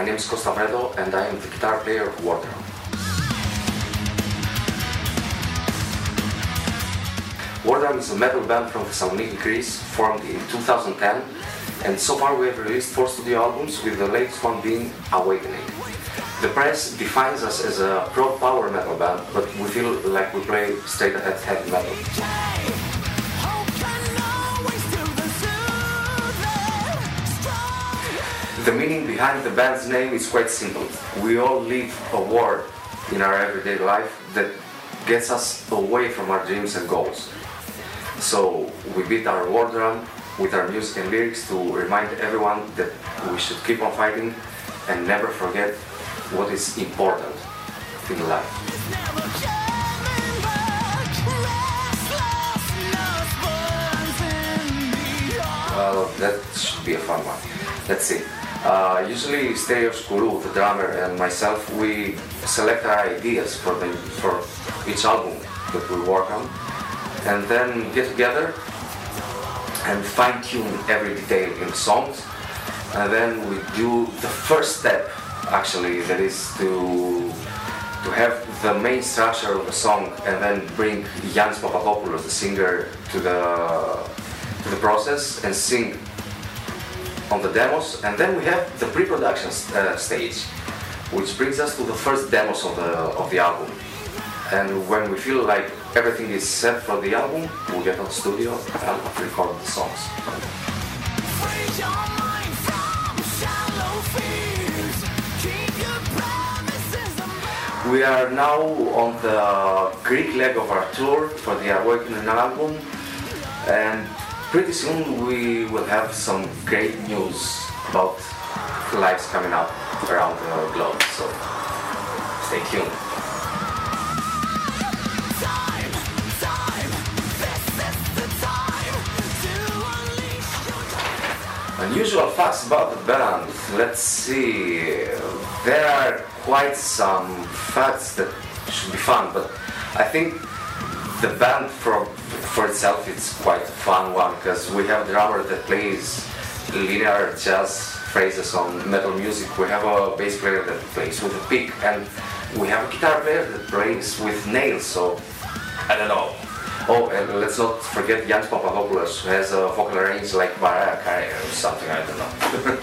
S12: name is Costa Fredo and I am the guitar player of Wardrum. Wardrum is a metal band from Thessaloniki, Greece, formed in two thousand ten, and so far we have released four studio albums, with the latest one being Awakening. The press defines us as a prog power metal band, but we feel like we play straight ahead heavy metal. The meaning behind the band's name is quite simple. We all live a war in our everyday life that gets us away from our dreams and goals. So we beat our war drum with our music and lyrics to remind everyone that we should keep on fighting and never forget what is important in life. Well, that should be a fun one. Let's see. Uh, usually Stereos Kourou, the drummer, and myself, we select our ideas for, the, for each album that we work on, and then get together and fine-tune every detail in songs, and then we do the first step, actually, that is to to have the main structure of the song, and then bring Yannis Papadopoulos, the singer, to the to the process and sing on the demos, and then we have the pre-production uh, stage, which brings us to the first demos of the of the album. And when we feel like everything is set for the album, we get on the studio and record the songs. We are now on the Greek leg of our tour for the Awakening album, and pretty soon we will have some great news about lives coming up around the globe, so stay tuned. Unusual facts about the band. Let's see. There are quite some facts that should be fun, but I think the band for for itself it's quite a fun one, because we have a drummer that plays linear jazz phrases on metal music. We have a bass player that plays with a pick, and we have a guitar player that plays with nails. So I don't know. Oh, and let's not forget Yannis Papadopoulos, who has a vocal range like Mariah Carey or something, I don't know.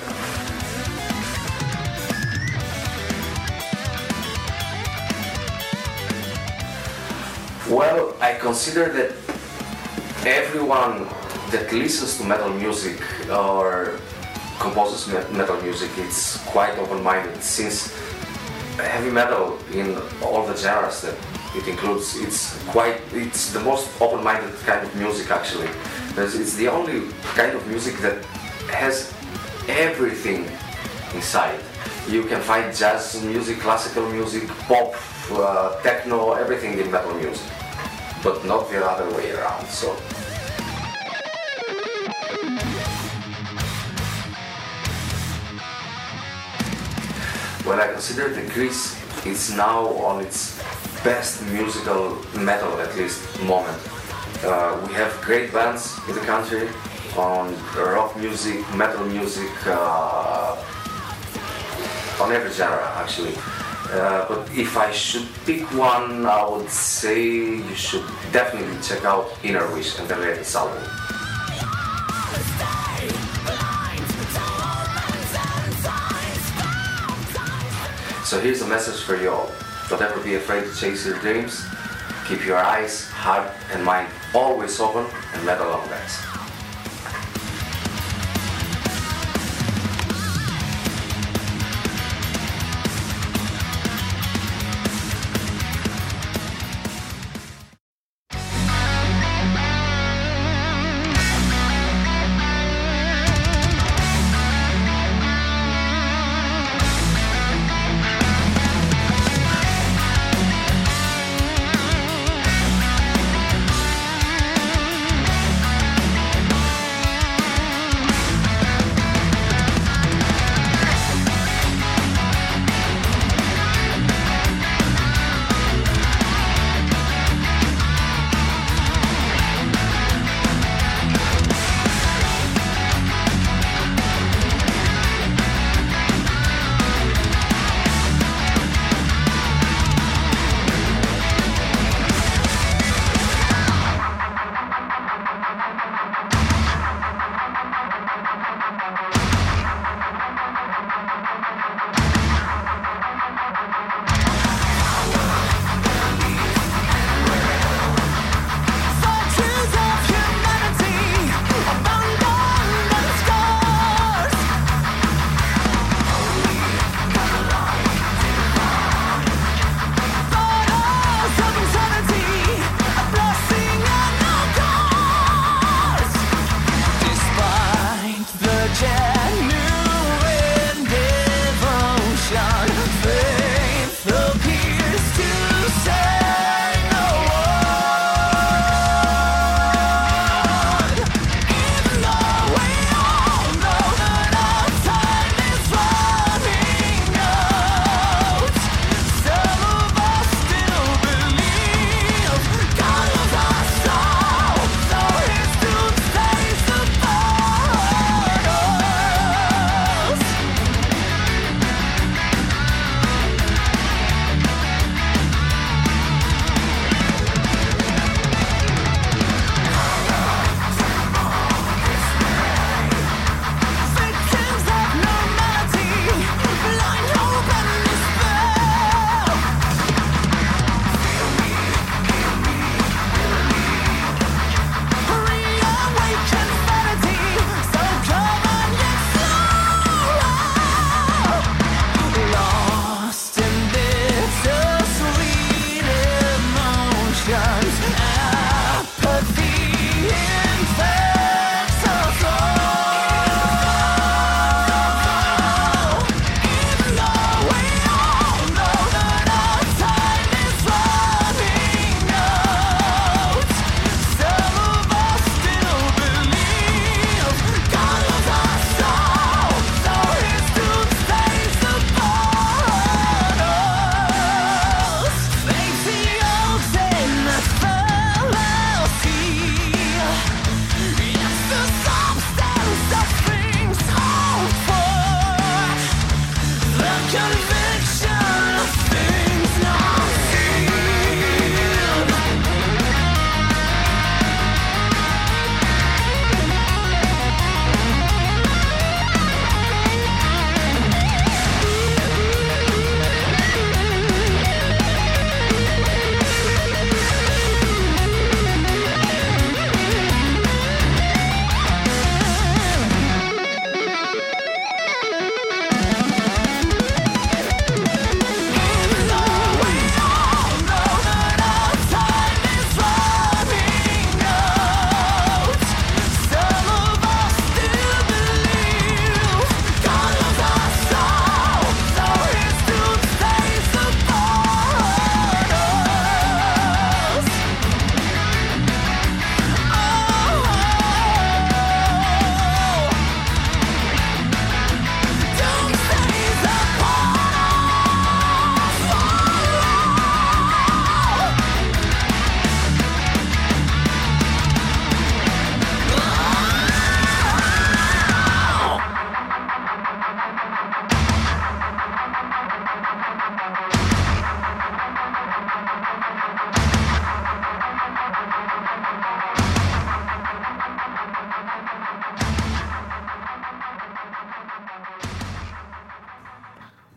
S12: Well, I consider that everyone that listens to metal music or composes metal music is quite open-minded, since heavy metal in all the genres that it includes, it's quite, it's the most open-minded kind of music actually. It's the only kind of music that has everything inside. You can find jazz music, classical music, pop, uh, techno, everything in metal music, but not the other way around. So. Well, I consider that Greece is now on its best musical metal, at least, moment. Uh, we have great bands in the country on rock music, metal music, uh, on every genre actually. Uh, but if I should pick one, I would say you should definitely check out Inner Wish and their latest album. So here's a message for you all. Don't ever be afraid to chase your dreams. Keep your eyes, heart and mind always open and metal on, guys.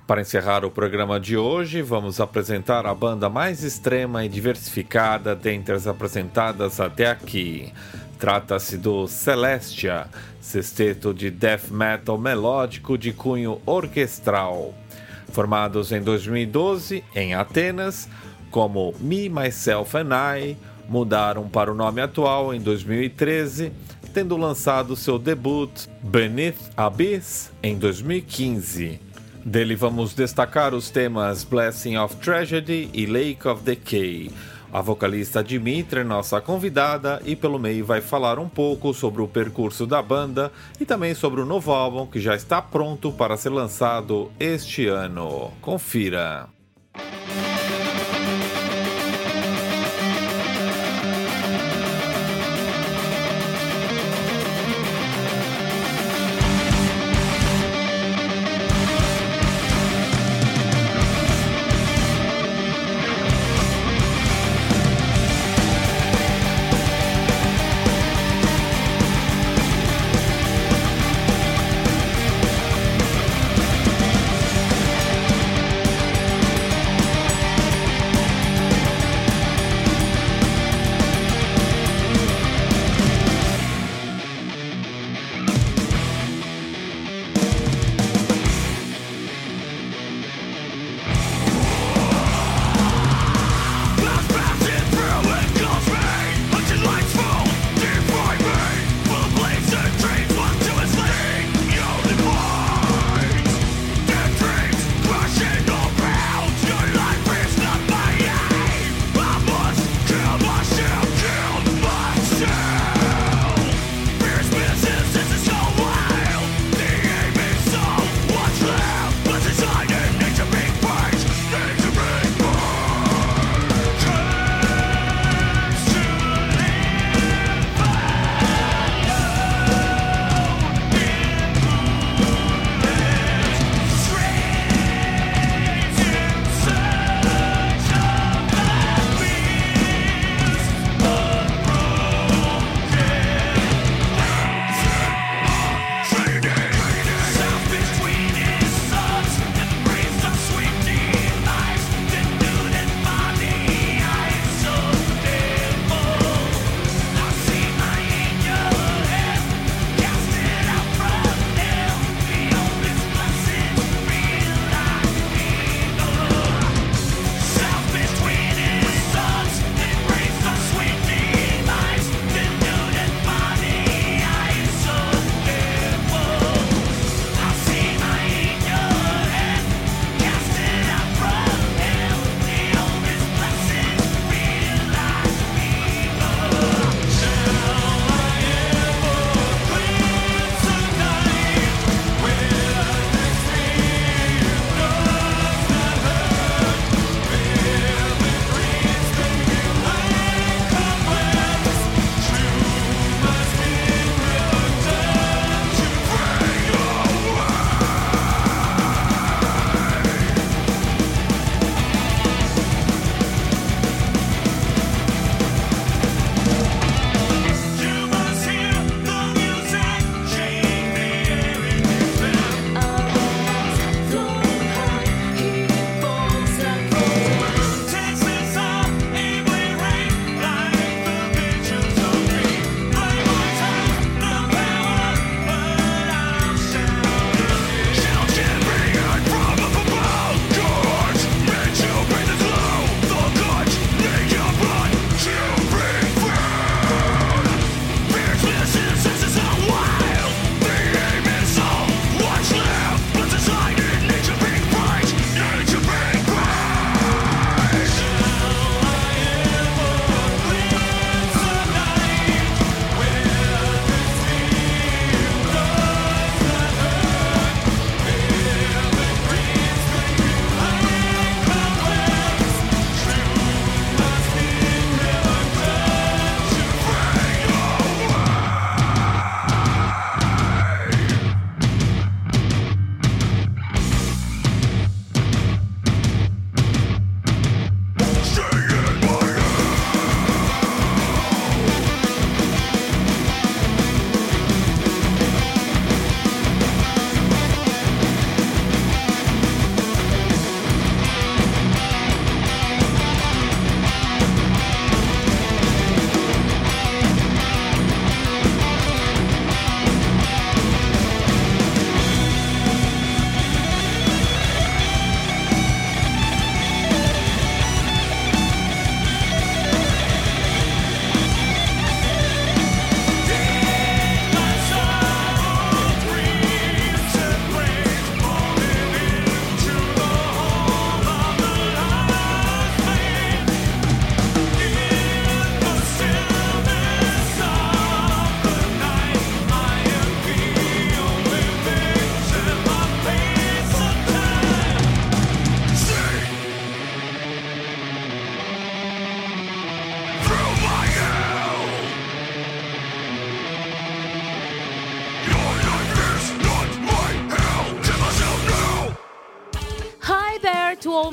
S1: Para encerrar o programa de hoje, vamos apresentar a banda mais extrema e diversificada dentre as apresentadas até aqui. Trata-se do Celestia, sexteto de death metal melódico de cunho orquestral. Formados em dois mil e doze, em Atenas, como Me, Myself and I, mudaram para o nome atual em dois mil e treze, tendo lançado seu debut Beneath Abyss em dois mil e quinze. Dele vamos destacar os temas Blessing of Tragedy e Lake of Decay. A vocalista Dimitra é nossa convidada e pelo meio vai falar um pouco sobre o percurso da banda e também sobre o novo álbum que já está pronto para ser lançado este ano. Confira!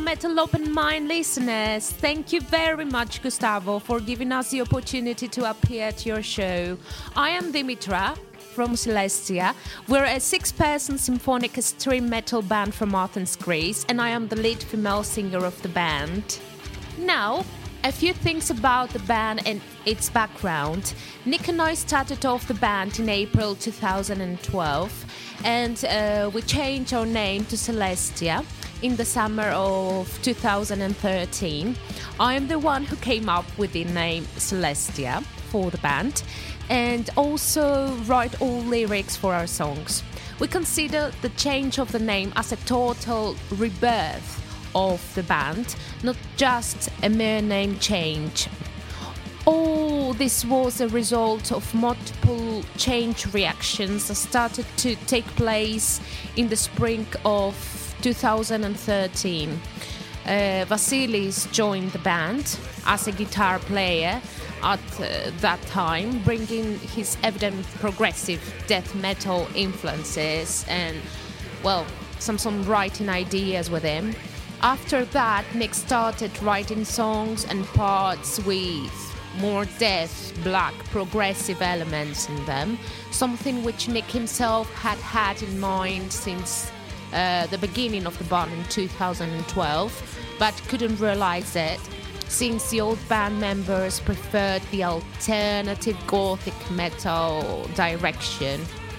S13: Metal Open Mind listeners. Thank you very much, Gustavo, for giving us the opportunity to appear at your show. I am Dimitra from Celestia. We're a six-person symphonic extreme metal band from Athens, Greece, and I am the lead female singer of the band. Now, a few things about the band and its background. Nick and I started off the band in April two thousand twelve, and uh, we changed our name to Celestia in the summer of two thousand thirteen. I am the one who came up with the name Celestia for the band, and also write all lyrics for our songs. We consider the change of the name as a total rebirth of the band, not just a mere name change. All this was a result of multiple change reactions that started to take place in the spring of two thousand thirteen. Uh, Vasilis joined the band as a guitar player at uh, that time, bringing his evident progressive death metal influences and, well, some songwriting ideas with him. After that, Nick started writing songs and parts with more death, black, progressive elements in them, something which Nick himself had had in mind since uh, the beginning of the band in two thousand twelve, but couldn't realize it, since the old band members preferred the alternative gothic metal direction.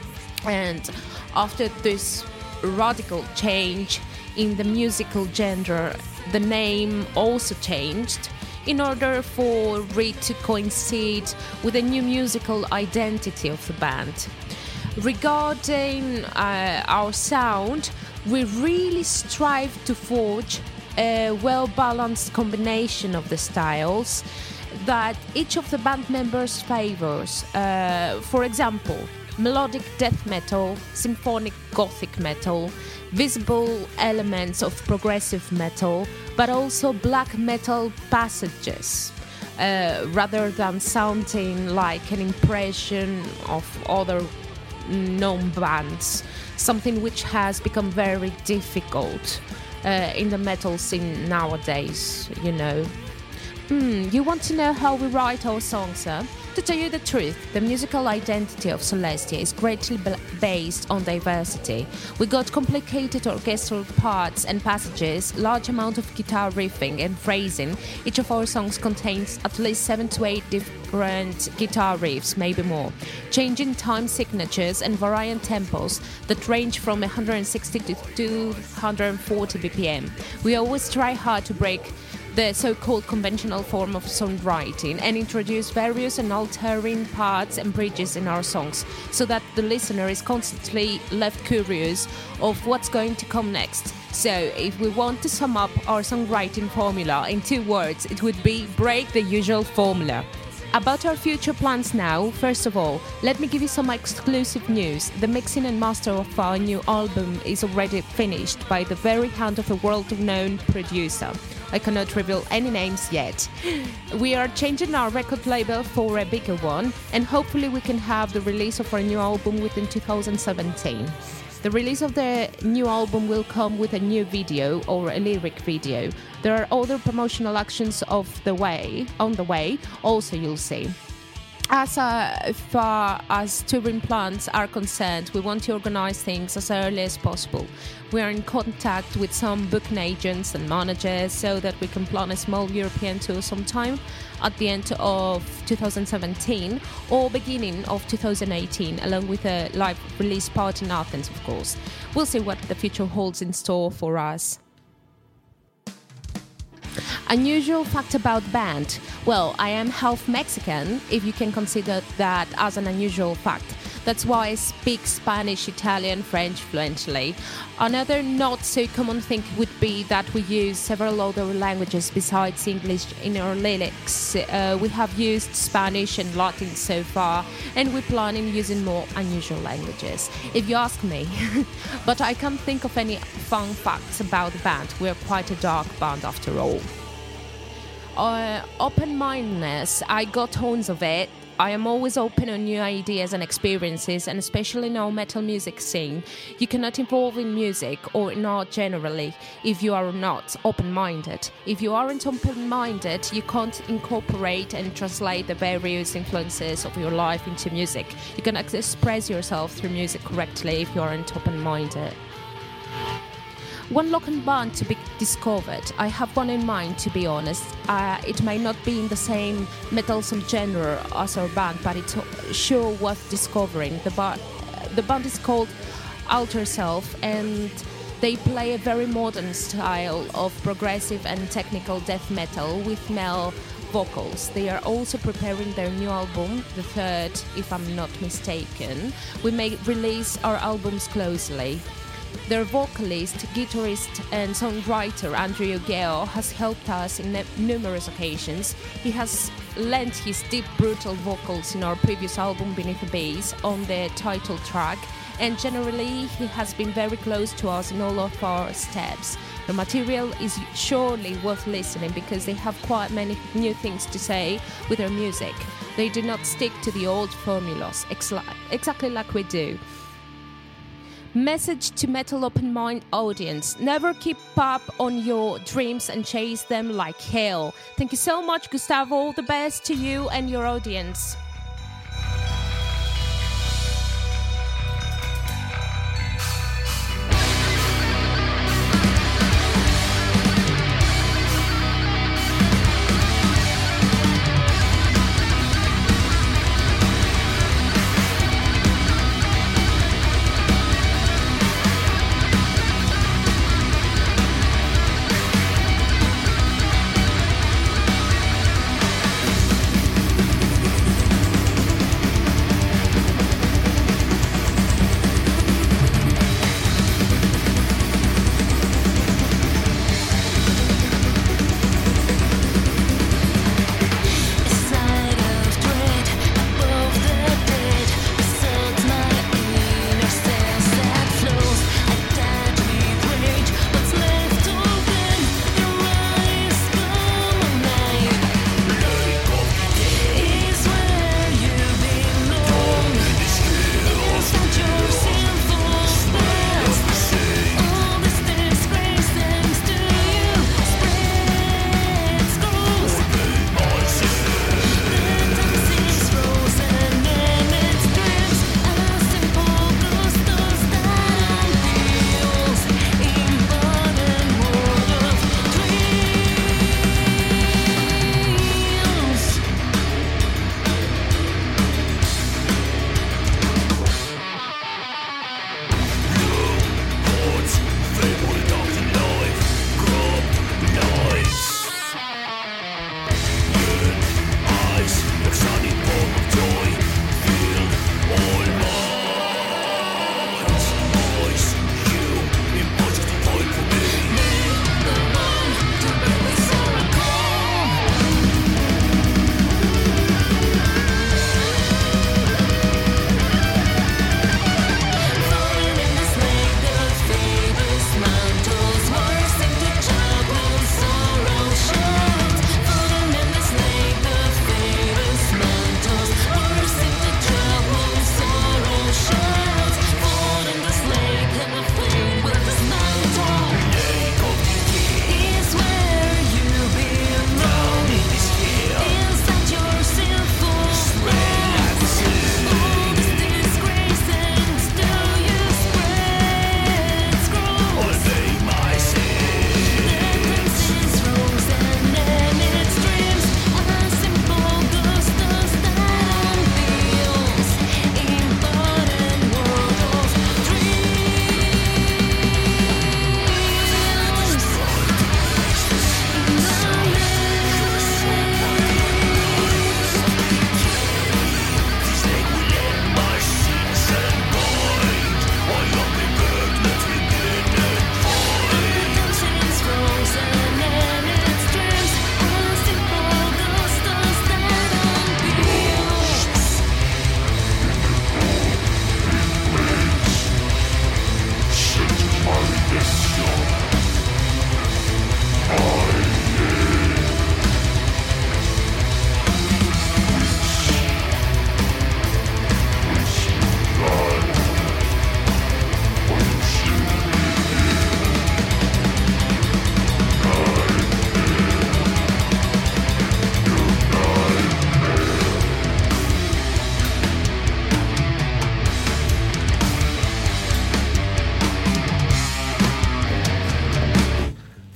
S13: And after this radical change in the musical genre, the name also changed in order for it to coincide with the new musical identity of the band. Regarding uh, our sound, we really strive to forge a well-balanced combination of the styles that each of the band members favors. Uh, for example, melodic death metal, symphonic gothic metal, visible elements of progressive metal, but also black metal passages, uh, rather than sounding like an impression of other known bands, something which has become very difficult uh, in the metal scene nowadays, you know. Mm, you want to know how we write our songs, huh? To tell you the truth, the musical identity of Celestia is greatly b- based on diversity. We got complicated orchestral parts and passages, large amount of guitar riffing and phrasing. Each of our songs contains at least seven to eight different guitar riffs, maybe more, changing time signatures and varying tempos that range from one hundred sixty to two hundred forty B P M. We always try hard to break the so-called conventional form of songwriting and introduce various and altering parts and bridges in our songs, so that the listener is constantly left curious of what's going to come next. So if we want to sum up our songwriting formula in two words, it would be break the usual formula. About our future plans now, first of all, let me give you some exclusive news. The mixing and master of our new album is already finished by the very hand of a world-known producer. I cannot reveal any names yet. We are changing our record label for a bigger one, and hopefully we can have the release of our new album within two thousand seventeen. The release of the new album will come with a new video or a lyric video. There are other promotional actions of the way, on the way, also you'll see. As uh, far as touring plans are concerned, we want to organize things as early as possible. We are in contact with some booking agents and managers so that we can plan a small European tour sometime at the end of two thousand seventeen or beginning of two thousand eighteen, along with a live release party in Athens, of course. We'll see what the future holds in store for us. Unusual fact about band. Well, I am half Mexican, if you can consider that as an unusual fact. That's why I speak Spanish, Italian, French fluently. Another not so common thing would be that we use several other languages besides English in our lyrics. Uh, we have used Spanish and Latin so far, and we plan on using more unusual languages, if you ask me. But I can't think of any fun facts about the band. We're quite a dark band after all. Uh, open-mindedness, I got tons of it. I am always open on new ideas and experiences, and especially in our metal music scene. You cannot evolve in music or in art generally if you are not open-minded. If you aren't open-minded, you can't incorporate and translate the various influences of your life into music. You cannot express yourself through music correctly if you aren't open-minded. One local band to be discovered. I have one in mind, to be honest. Uh, it may not be in the same metalsome genre as our band, but it's sure worth discovering. The, bar- the band is called Alter Self, and they play a very modern style of progressive and technical death metal with male vocals. They are also preparing their new album, the third, if I'm not mistaken. We may release our albums closely. Their vocalist, guitarist and songwriter Andrew Gale has helped us in numerous occasions. He has lent his deep, brutal vocals in our previous album Beneath the Base on the title track, and generally he has been very close to us in all of our steps. The material is surely worth listening because they have quite many new things to say with their music. They do not stick to the old formulas, exactly like we do. Message to Metal Open Mind audience: never keep up on your dreams and chase them like hell. Thank you so much, Gustavo. All the best to you and your audience.
S5: Thank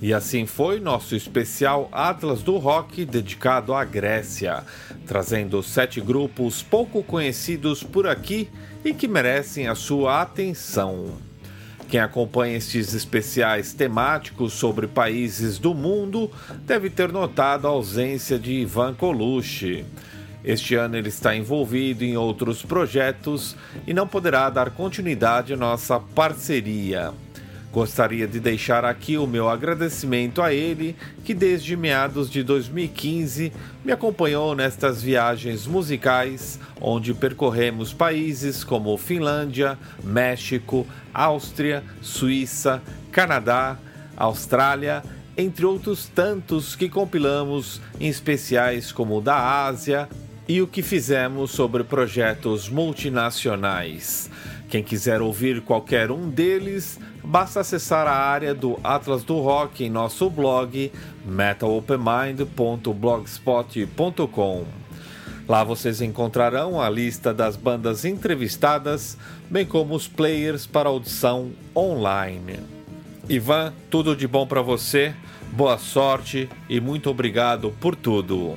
S1: E assim foi nosso especial Atlas do Rock dedicado à Grécia, trazendo sete grupos pouco conhecidos por aqui e que merecem a sua atenção. Quem acompanha estes especiais temáticos sobre países do mundo deve ter notado a ausência de Ivan Colucci. Este ano ele está envolvido em outros projetos e não poderá dar continuidade à nossa parceria. Gostaria de deixar aqui o meu agradecimento a ele, que desde meados de dois mil e quinze me acompanhou nestas viagens musicais, onde percorremos países como Finlândia, México, Áustria, Suíça, Canadá, Austrália, entre outros tantos que compilamos em especiais como o da Ásia e o que fizemos sobre projetos multinacionais. Quem quiser ouvir qualquer um deles, basta acessar a área do Atlas do Rock em nosso blog metal open mind ponto blogspot ponto com. Lá vocês encontrarão a lista das bandas entrevistadas, bem como os players para audição online. Ivan, tudo de bom para você, boa sorte e muito obrigado por tudo.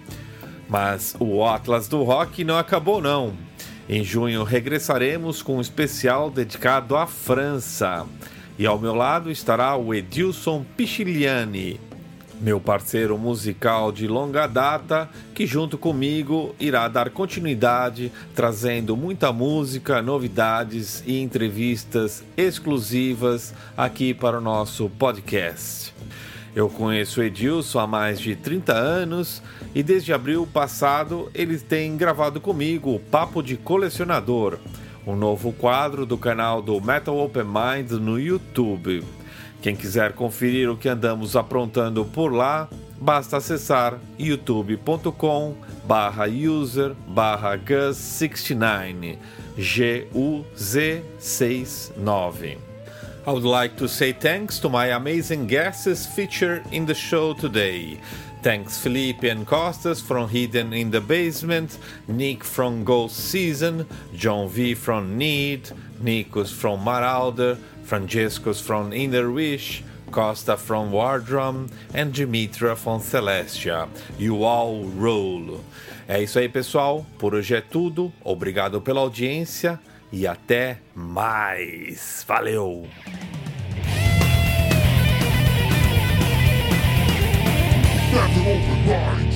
S1: Mas o Atlas do Rock não acabou não. Em junho regressaremos com um especial dedicado à França. E ao meu lado estará o Edilson Pichiliani, meu parceiro musical de longa data, que junto comigo irá dar continuidade, trazendo muita música, novidades e entrevistas exclusivas aqui para o nosso podcast. Eu conheço o Edilson há mais de trinta anos e desde abril passado ele tem gravado comigo o Papo de Colecionador, um novo quadro do canal do Metal Open Mind no YouTube. Quem quiser conferir o que andamos aprontando por lá, basta acessar youtube ponto com barra user barra gus sessenta e nove, G U Z sessenta e nove. I would like to say thanks to my amazing guests featured in the show today. Thanks Felipe and Costas from Hidden in the Basement, Nick from Ghost Season, John V from Need, Nikos from Marauder, Francescos from Inner Wish, Costa from Wardrum and Dimitra from Celestia. You all roll. É isso aí, pessoal. Por hoje é tudo. Obrigado pela audiência e até mais. Valeu!
S7: Metal Open Mind.